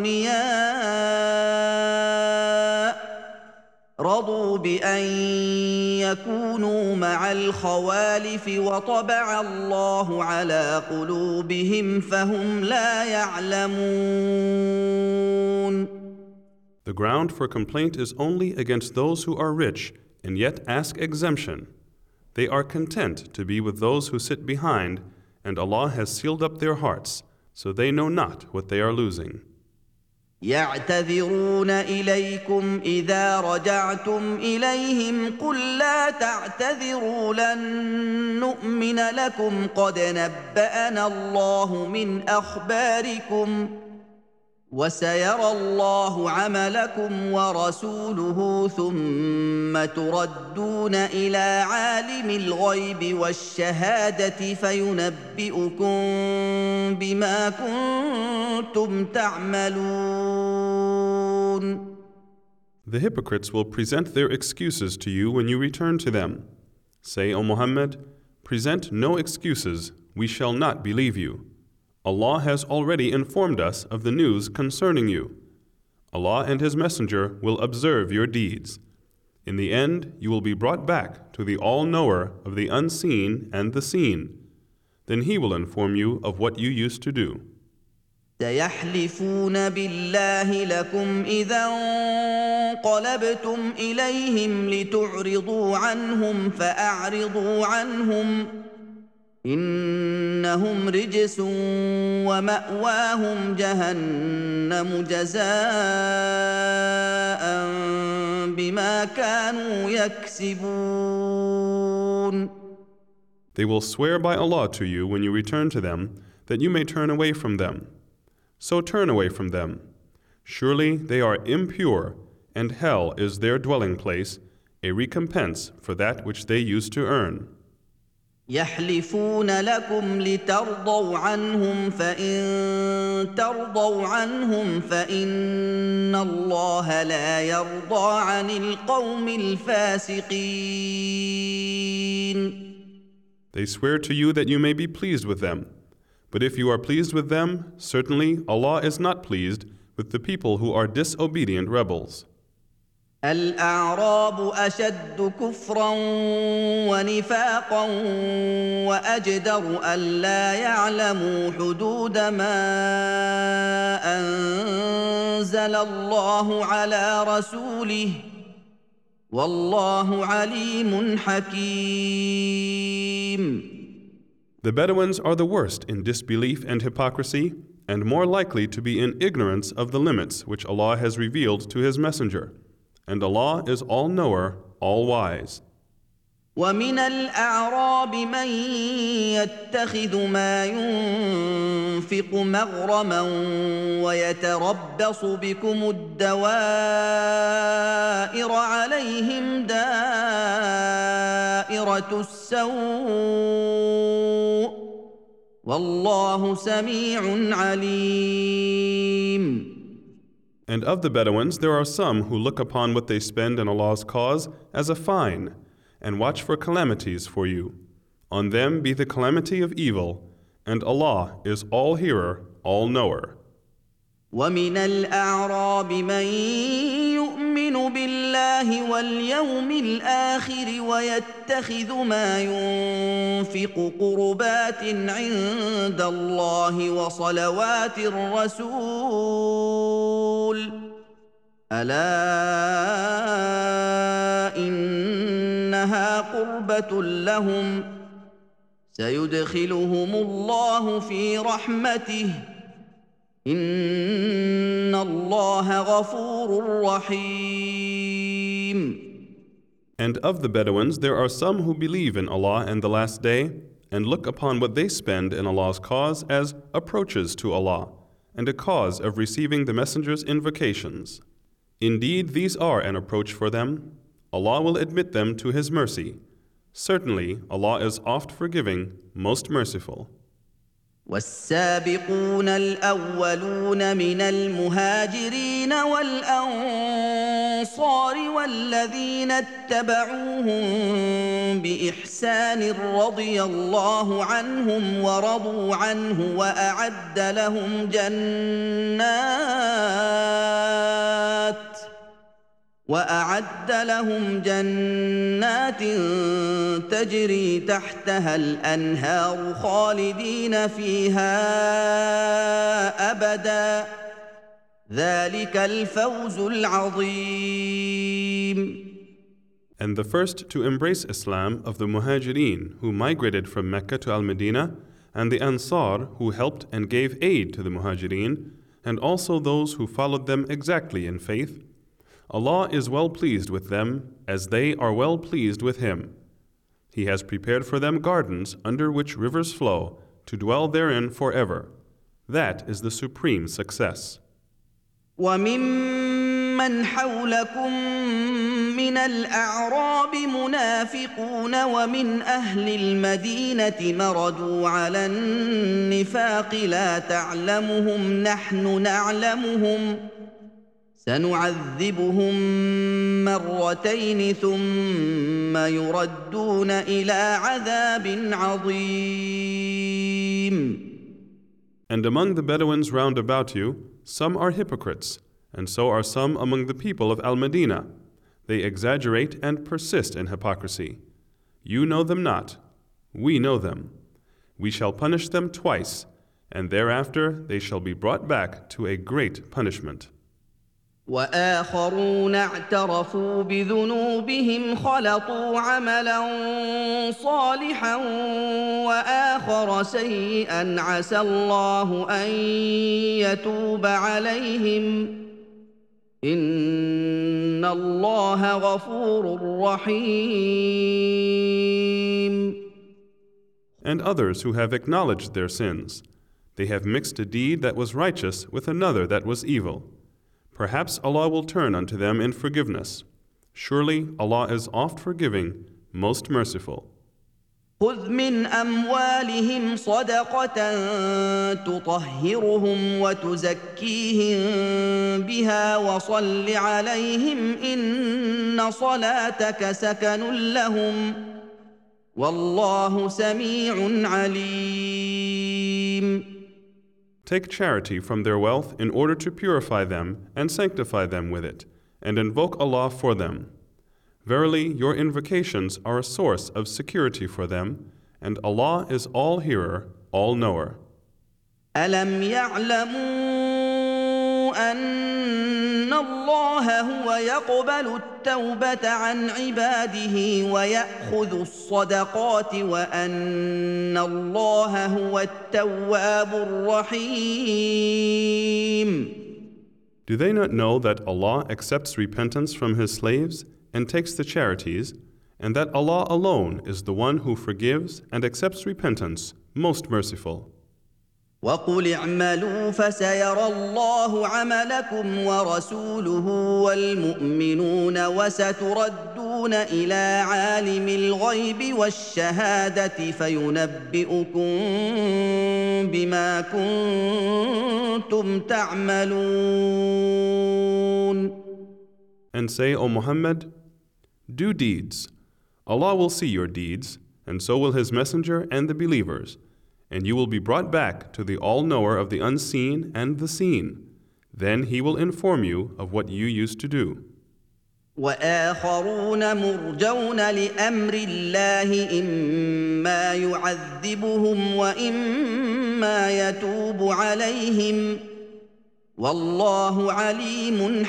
A: أغنياء رضوا بأن يكونوا مع الخوالف وطبع الله على قلوبهم فهم لا يعلمون.
B: The ground for complaint is only against those who are rich and yet ask exemption. They are content to be with those who sit behind, and Allah has sealed up their hearts, so they know not what they are losing.
A: يعتذرون إليكم إذا رجعتم إليهم قل لا تعتذروا لن نؤمن لكم قد نبأنا الله من أخباركم وسيرى الله عملكم ورسوله ثم تردون إلى عالم الغيب والشهادة فينبئكم بما كنتم تعملون.
B: The hypocrites will present their excuses to you when you return to them. Say, O Muhammad, present no excuses, we shall not believe you. Allah has already informed us of the news concerning you. Allah and His Messenger will observe your deeds. In the end, you will be brought back to the All-Knower of the unseen and the seen. Then He will inform you of what you used to do.
A: سيحلفون بالله لكم إذا انقلبتم إليهم لتعرضوا عنهم فأعرضوا عنهم إنهم رجس ومأواهم جهنم جزاء بما كانوا يكسبون.
B: They will swear by Allah to you when you return to them that you may turn away from them. So turn away from them. Surely they are impure, and hell is their dwelling place, a recompense for that which they used to earn.
A: يحلفون لكم لترضوا عنهم فإن ترضوا عنهم فإن الله لا يرضى عن القوم الفاسقين.
B: They swear to you that you may be pleased with them. But if you are pleased with them, certainly Allah is not pleased with the people who are disobedient rebels.
A: الأعراب أشد كفرا ونفاقا وأجدر ألا يعلموا حدود ما أنزل الله على رسوله والله عليم حكيم.
B: The Bedouins are the worst in disbelief and hypocrisy, and more likely to be in ignorance of the limits which Allah has revealed to His Messenger. And Allah is all-knower, all-wise.
A: ومن الأعراب من يتخذ ما ينفق مغرما ويتربص بكم الدوائر عليهم دائرة السوء والله سميع عليم.
B: And of the Bedouins there are some who look upon what they spend in Allah's cause as a fine, and watch for calamities for you. On them be the calamity of evil, and Allah is all-hearer, all-knower.
A: ومن الأعراب من يؤمن بالله واليوم الآخر ويتخذ ما ينفق قربات عند الله وصلوات الرسول ألا إنها قربة لهم سيدخلهم الله في رحمته إن الله غفور رحيم.
B: And of the Bedouins there are some who believe in Allah and the Last Day, and look upon what they spend in Allah's cause as approaches to Allah, and a cause of receiving the Messenger's invocations. Indeed, these are an approach for them. Allah will admit them to His mercy. Certainly, Allah is oft forgiving, most merciful.
A: والسابقون الأولون من المهاجرين والأنصار والذين اتبعوهم بإحسان رضي الله عنهم ورضوا عنه وأعد لهم جنات تجري تحتها الأنهار خالدين فيها أبدا ذلك الفوز العظيم.
B: And the first to embrace Islam of the Muhajirin who migrated from Mecca to Al-Medina, and the Ansar who helped and gave aid to the Muhajirin, and also those who followed them exactly in faith, Allah is well pleased with them as they are well pleased with Him. He has prepared for them gardens under which rivers flow to dwell therein forever. That is the supreme success.
A: وَمِمَّنْ حَوْلَكُمْ مِنَ الْأَعْرَابِ مُنَافِقُونَ وَمِنْ أَهْلِ الْمَدِينَةِ مَرَدُوا عَلَى النِّفَاقِ لَا تَعْلَمُهُمْ نَحْنُ نَعْلَمُهُمْ سنعذبهم مرتين ثم يردون إلى عذاب عظيم.
B: And among the Bedouins round about you, some are hypocrites, and so are some among the people of Al-Medina. They exaggerate and persist in hypocrisy. You know them not, we know them. We shall punish them twice, and thereafter they shall be brought back to a great punishment.
A: وآخرون اعترفوا بذنوبهم خلطوا عملا صالحا وآخر سيئا عسى الله أن يتوب عليهم إن الله غفور رحيم.
B: And others who have acknowledged their sins, they have mixed a deed that was righteous with another that was evil. Perhaps Allah will turn unto them in forgiveness. Surely Allah is oft forgiving, most merciful.
A: خذ من أموالهم صدقة تطهرهم وتزكيهم بها وصل عليهم إن صلاتك سكن لهم والله سميع عليم.
B: Take charity from their wealth in order to purify them and sanctify them with it, and invoke Allah for them. Verily, your invocations are a source of security for them, and Allah is all-hearer, all-knower.
A: أَلَمْ يَعْلَمُوا أَنَّ اللَّهَ هُوَ يَقْبَلُ التَّوْبَةَ عَنْ عِبَادِهِ وَيَأْخُذُ الصَّدَقَاتِ وَأَنَّ اللَّهَ هُوَ التَّوَّابُ الرَّحِيمُ.
B: Do they not know that Allah accepts repentance from His slaves and takes the charities, and that Allah alone is the one who forgives and accepts repentance, most merciful?
A: وَقُلِ اعْمَلُوا فَسَيَرَى اللَّهُ عَمَلَكُمْ وَرَسُولُهُ وَالْمُؤْمِنُونَ وَسَتُرَدُّونَ إِلَى عَالِمِ الْغَيْبِ وَالشَّهَادَةِ فَيُنَبِّئُكُم بِمَا كُنتُمْ تَعْمَلُونَ.
B: And say, O Muhammad, do deeds. Allah will see your deeds, and so will His Messenger and the believers. And you will be brought back to the all-knower of the unseen and the seen. Then He will inform you of what you used to do.
A: وآخرون مرجون لأمر الله إما يعذبهم وإما يتوب عليهم والله عليم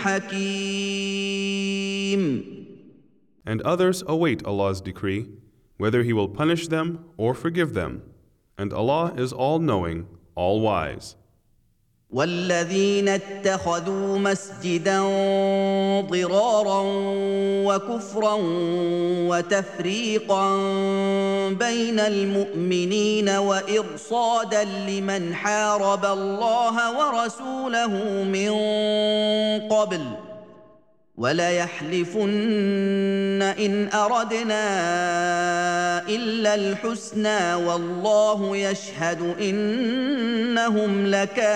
A: حكيم.
B: And others await Allah's decree, whether He will punish them or forgive them. And Allah is all-knowing, all-wise.
A: والذين اتخذوا مسجدا ضرارا وكفرا وتفريقا بين المؤمنين وإرصادا لمن حارب الله ورسوله من قبل وليحلفن إن أردنا إلا الحسنى والله يشهد إنهم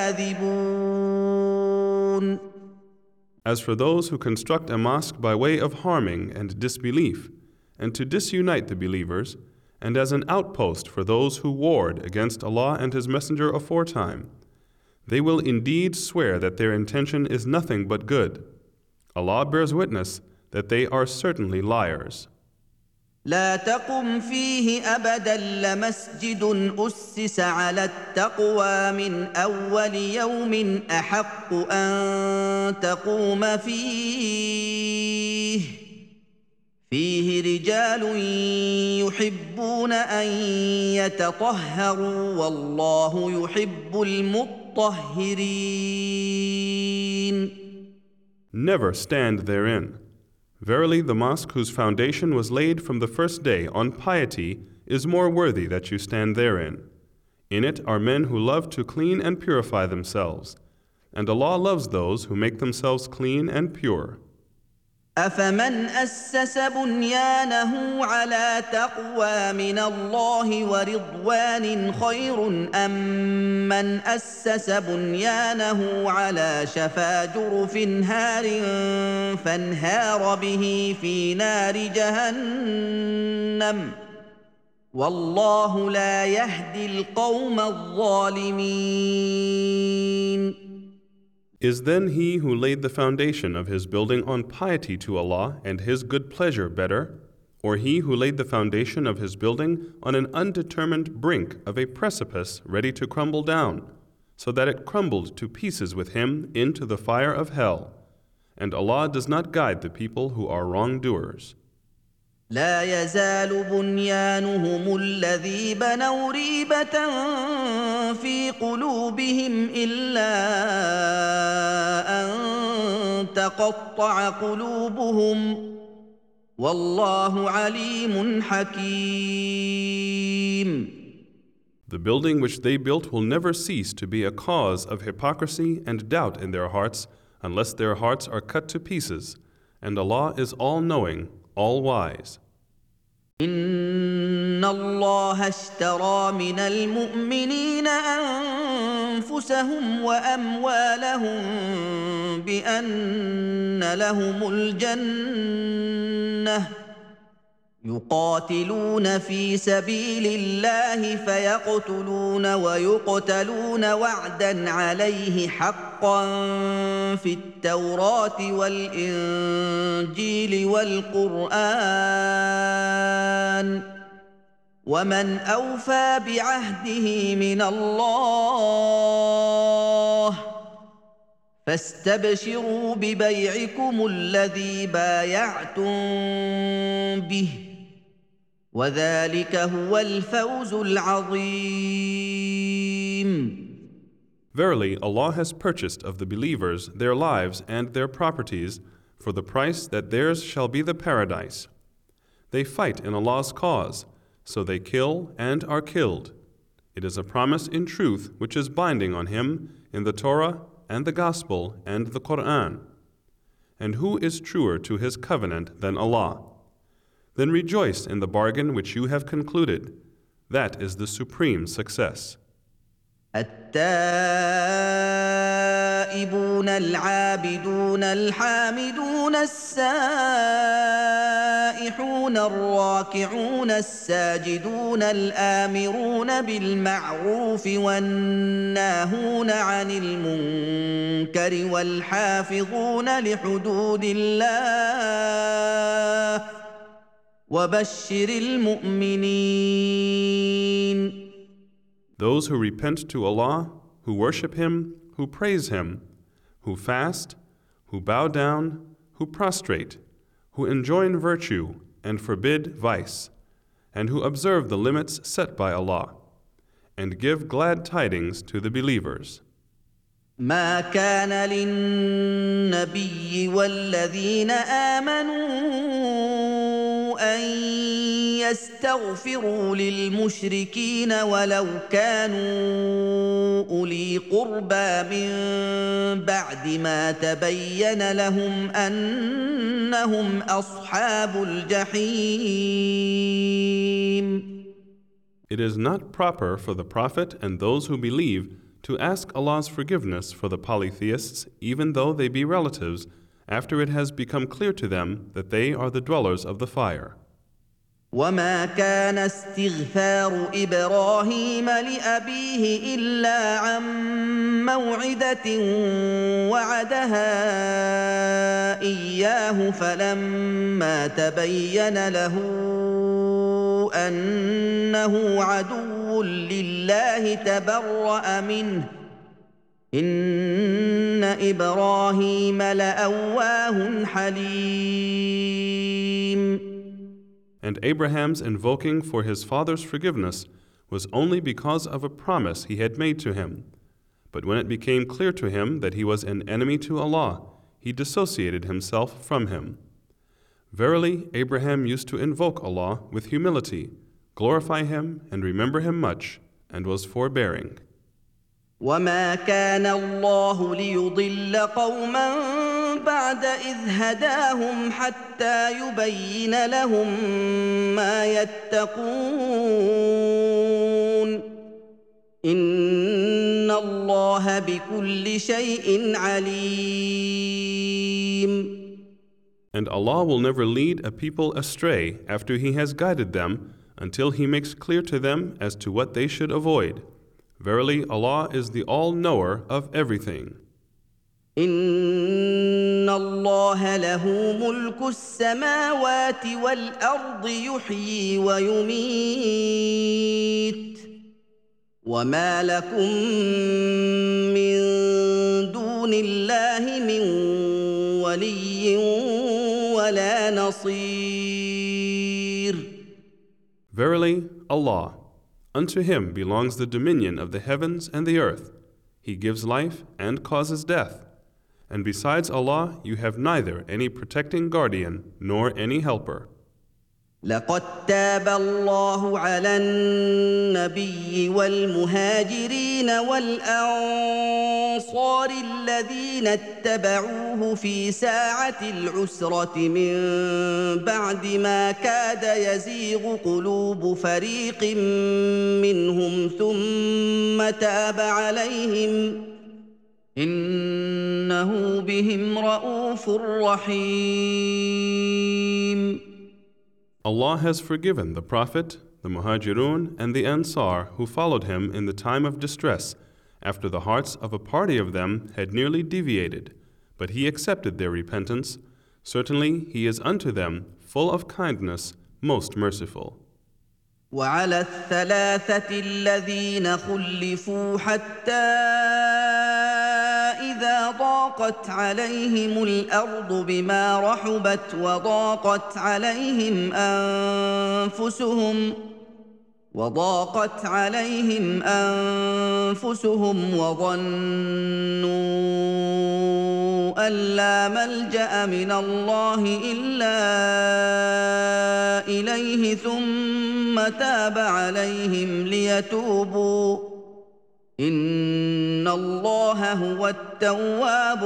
A: لكاذبون.
B: As for those who construct a mosque by way of harming and disbelief, and to disunite the believers, and as an outpost for those who warred against Allah and His Messenger aforetime, they will indeed swear that their intention is nothing but good. Allah bears witness that they are certainly liars.
A: لا تقم فيه أبدا لمسجد أسس على التقوى من أول يوم أحق أن تقوم فيه رجال يحبون أن يتطهروا والله يحب المطهرين.
B: Never stand therein. Verily, the mosque whose foundation was laid from the first day on piety is more worthy that you stand therein. In it are men who love to clean and purify themselves, and Allah loves those who make themselves clean and pure.
A: أفمن أسس بنيانه على تقوى من الله ورضوان خير أم من أسس بنيانه على شفا جرف هار فانهار به في نار جهنم والله لا يهدي القوم الظالمين.
B: Is then he who laid the foundation of his building on piety to Allah and His good pleasure better, or he who laid the foundation of his building on an undetermined brink of a precipice ready to crumble down, so that it crumbled to pieces with him into the fire of hell? And Allah does not guide the people who are wrongdoers.
A: لا يزال بنيانهم الذي بنوا ريبة في قلوبهم إلا أن تقطع قلوبهم والله عليم حكيم.
B: The building which they built will never cease to be a cause of hypocrisy and doubt in their hearts unless their hearts are cut to pieces, and Allah is all-knowing, all-wise.
A: إن الله اشترى من المؤمنين أنفسهم وأموالهم بأن لهم الجنة يقاتلون في سبيل الله فيقتلون ويقتلون وعدا عليه حقا في التوراة والإنجيل والقرآن ومن أوفى بعهده من الله فاستبشروا ببيعكم الذي بايعتم به وذلك هو الفوز العظيم.
B: Verily, Allah has purchased of the believers their lives and their properties for the price that theirs shall be the paradise. They fight in Allah's cause, so they kill and are killed. It is a promise in truth which is binding on him in the Torah and the Gospel and the Quran. And who is truer to his covenant than Allah? Then rejoice in the bargain which you have concluded. That is the supreme success.
A: التائبون العابدون الحامدون السائحون الراكعون الساجدون الآمرون بالمعروف والناهون عن المنكر والحافظون لحدود الله وبشر المؤمنين.
B: Those who repent to Allah, who worship Him, who praise Him, who fast, who bow down, who prostrate, who enjoin virtue and forbid vice, and who observe the limits set by Allah, and give glad tidings to the believers.
A: ما كان للنبي والذين آمنوا أن يستغفروا للمشركين ولو كانوا أولي قربى من بعد ما تبين لهم أنهم أصحاب الجحيم.
B: It is not proper for the Prophet and those who believe to ask Allah's forgiveness for the polytheists, even though they be relatives, after it has become clear to them that they are the dwellers of the fire.
A: وما كان استغفار إبراهيم لأبيه إلا عن موعدة وعدها إياه فلما تبين له أنه عدو لله تبرأ منه إن إبراهيم لأواه حليم.
B: And Abraham's invoking for his father's forgiveness was only because of a promise he had made to him. But when it became clear to him that he was an enemy to Allah, he dissociated himself from him. Verily, Abraham used to invoke Allah with humility, glorify Him and remember Him much, and was forbearing.
A: وما كان الله ليضل قوما بعد إذ هداهم حتى يبين لهم ما يتقون إن الله بكل شيء عليم.
B: And Allah will never lead a people astray after He has guided them until He makes clear to them as to what they should avoid. Verily, Allah is the all-knower of everything.
A: إن الله له ملك السماوات والأرض يحيي ويميت وما لكم من دون الله من ولي ولا نصير.
B: Verily, Allah, unto Him belongs the dominion of the heavens and the earth. He gives life and causes death. And besides Allah, you have neither any protecting guardian nor any helper.
A: لقد تاب الله على النبي والمهاجرين والأنصار الذين اتبعوه في ساعة العسرة من بعد ما كاد يزيغ قلوب فريق منهم ثم تاب عليهم إنه بهم رءوف رحيم.
B: Allah has forgiven the Prophet, the Muhajirun, and the Ansar who followed him in the time of distress, after the hearts of a party of them had nearly deviated, but He accepted their repentance. Certainly He is unto them full of kindness, most merciful.
A: وعلى الثلاثة الذين خلفوا حتى إذا ضاقت عليهم الأرض بما رحبت وضاقت عليهم أنفسهم وظنوا أن لا ملجأ من الله إلا إليه ثم تاب عليهم ليتوبوا إن الله هو التواب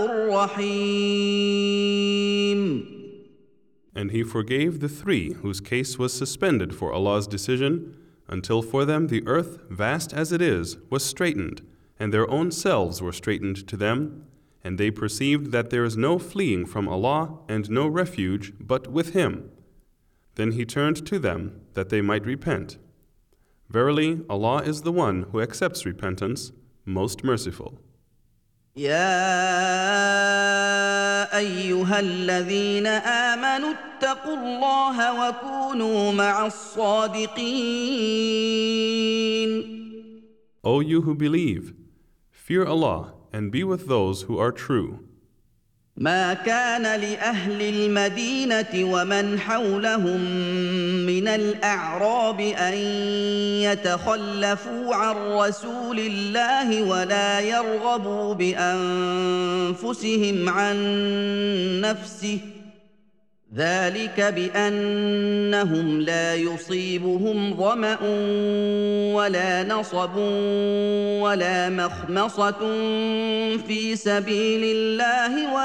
A: الرحيم.
B: And He forgave the three whose case was suspended for Allah's decision, until for them the earth, vast as it is, was straightened, and their own selves were straightened to them, and they perceived that there is no fleeing from Allah and no refuge but with Him. Then He turned to them that they might repent. Verily, Allah is the one who accepts repentance, most merciful.
A: يا أيها الذين آمنوا اتقوا الله وكونوا مع الصادقين.
B: O you who believe, fear Allah and be with those who are true.
A: ما كان لأهل المدينة ومن حولهم من الأعراب أن يتخلفوا عن رسول الله ولا يرغبوا بأنفسهم عن نفسه ذلك بأنهم لا يصيبهم ظمأ ولا نصب ولا مخمصة في سبيل الله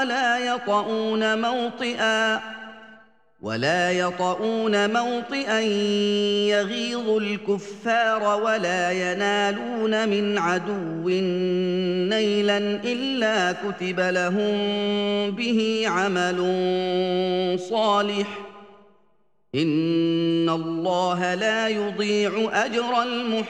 A: ولا يطؤون موطئا يغيظ الكفار ولا ينالون من عدو نيلا إلا كتب لهم به عمل صالح إن الله لا يضيع أجر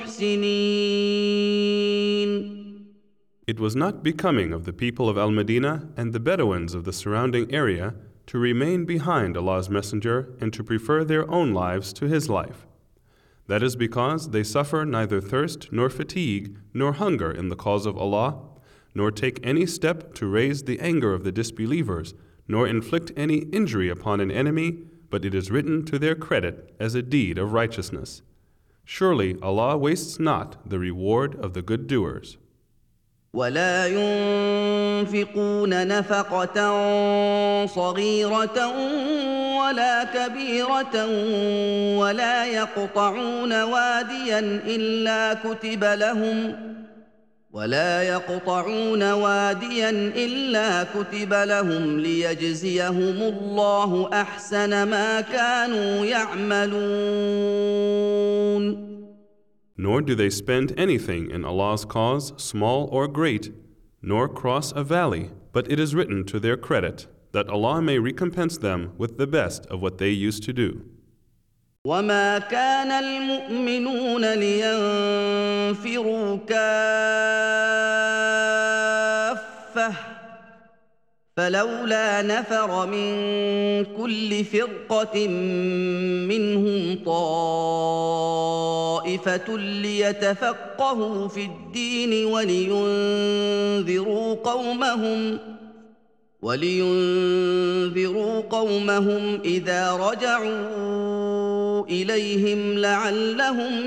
A: المحسنين.
B: It was not becoming of the people of Al-Madinah and the Bedouins of the surrounding area to remain behind Allah's Messenger and to prefer their own lives to his life. That is because they suffer neither thirst nor fatigue nor hunger in the cause of Allah, nor take any step to raise the anger of the disbelievers, nor inflict any injury upon an enemy, but it is written to their credit as a deed of righteousness. Surely Allah wastes not the reward of the good doers.
A: ولا ينفقون نفقة صغيرة ولا كبيرة ولا يقطعون واديا إلا كتب لهم ليجزيهم الله أحسن ما كانوا يعملون.
B: Nor do they spend anything in Allah's cause, small or great, nor cross a valley, but it is written to their credit, that Allah may recompense them with the best of what they used to do.
A: وما كان المؤمنون لينفروا كافة فلولا نفر من كل فرقة منهم طائفة ليتفقهوا في الدين ولينذروا قومهم إذا رجعوا إليهم لعلهم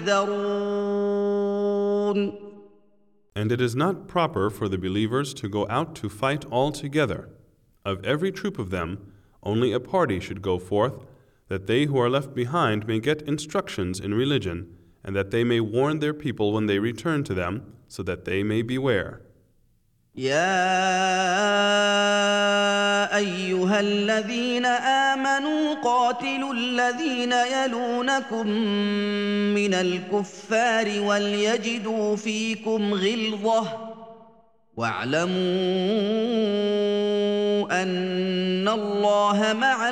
A: يحذرون.
B: And it is not proper for the believers to go out to fight all together. Of every troop of them, only a party should go forth, that they who are left behind may get instructions in religion, and that they may warn their people when they return to them, so that they may beware.
A: يا أيها الذين آمنوا قاتلوا الذين يلونكم من الكفار وليجدوا فيكم غلظة واعلموا أن الله مع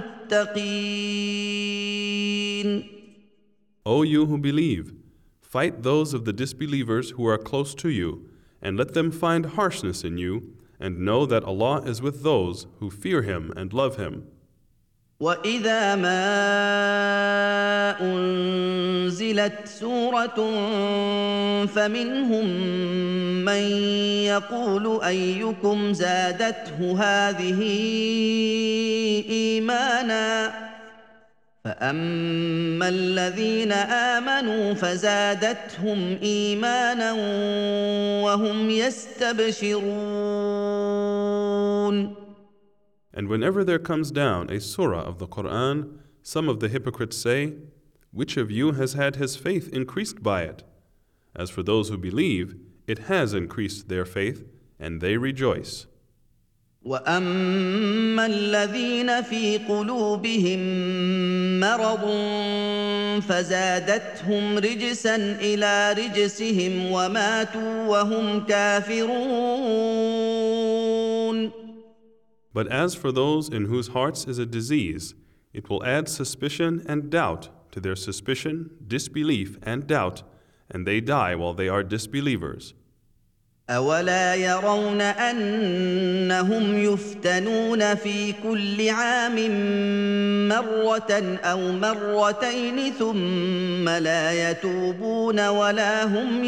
A: المتقين.
B: O you who believe, fight those of the disbelievers who are close to you, and let them find harshness in you, and know that Allah is with those who fear Him and love Him.
A: وَإِذَا مَا أُنزِلَتْ سُورَةٌ فَمِنْهُم مَّن يَقُولُ أَيُّكُمْ زَادَتْهُ هَٰذِهِ إِيمَانًا فَأَمَّا الَّذِينَ آمَنُوا فَزَادَتْهُمْ إِيمَانًا وَهُمْ يَسْتَبْشِرُونَ.
B: And whenever there comes down a surah of the Quran, some of the hypocrites say, "Which of you has had his faith increased by it?" As for those who believe, it has increased their faith, and they rejoice.
A: وَأَمَّا الَّذِينَ فِي قُلُوبِهِم مَّرَضٌ فَزَادَتْهُمْ رِجْسًا إِلَىٰ رِجْسِهِمْ وَمَاتُوا وَهُمْ كَافِرُونَ.
B: But as for those in whose hearts is a disease, it will add suspicion and doubt to their suspicion, disbelief and doubt, and they die while they are disbelievers.
A: أَوَلَا يَرَوْنَ أَنَّهُمْ يُفْتَنُونَ فِي كُلِّ عَامٍ مَّرَّةً أَوْ مَرَّتَيْنِ ثُمَّ لَا يَتُوبُونَ وَلَا هُمْ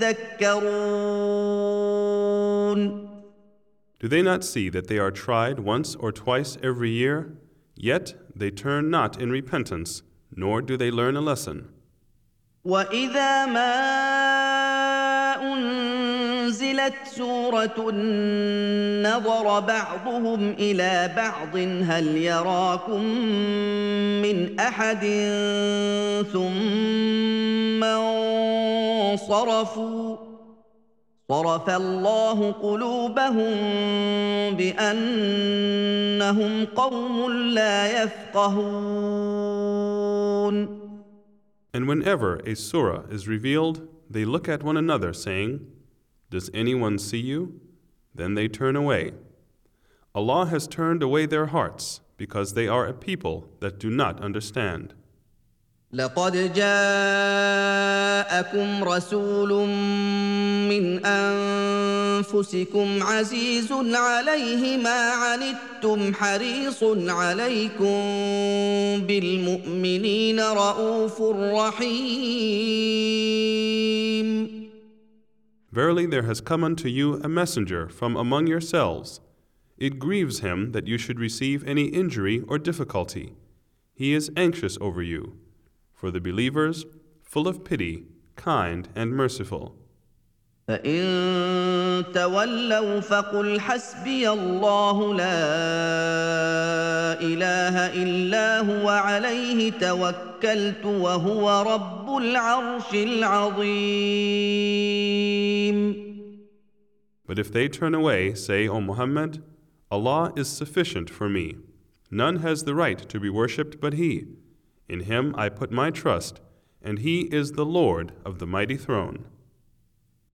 A: يَذَّكَّرُونَ.
B: Do they not see that they are tried once or twice every year? Yet they turn not in repentance, nor do they learn a lesson.
A: وَإِذَا مَا أنزلت سورة نظر بعضهم إلى بعض هل يراكم من أحد ثم انصرفوا صرف الله قلوبهم بأنهم قوم لا يفقهون.
B: And whenever a surah is revealed, they look at one another, saying, "Does anyone see you?" Then they turn away. Allah has turned away their hearts because they are a people that do not understand.
A: لقد جاءكم رسول من أنفسكم عزيز عليه ما عنتم حريص عليكم بالمؤمنين رءوف رحيم.
B: Verily there has come unto you a messenger from among yourselves. It grieves him that you should receive any injury or difficulty. He is anxious over you. For the believers, full of pity, kind and merciful.
A: فإن تولوا فقل حسبي الله لا إله إلا هو عليه توكلت وهو رب العرش العظيم.
B: But if they turn away, say, O Muhammad, Allah is sufficient for me. None has the right to be worshipped but He. In Him I put my trust, and He is the Lord of the mighty throne.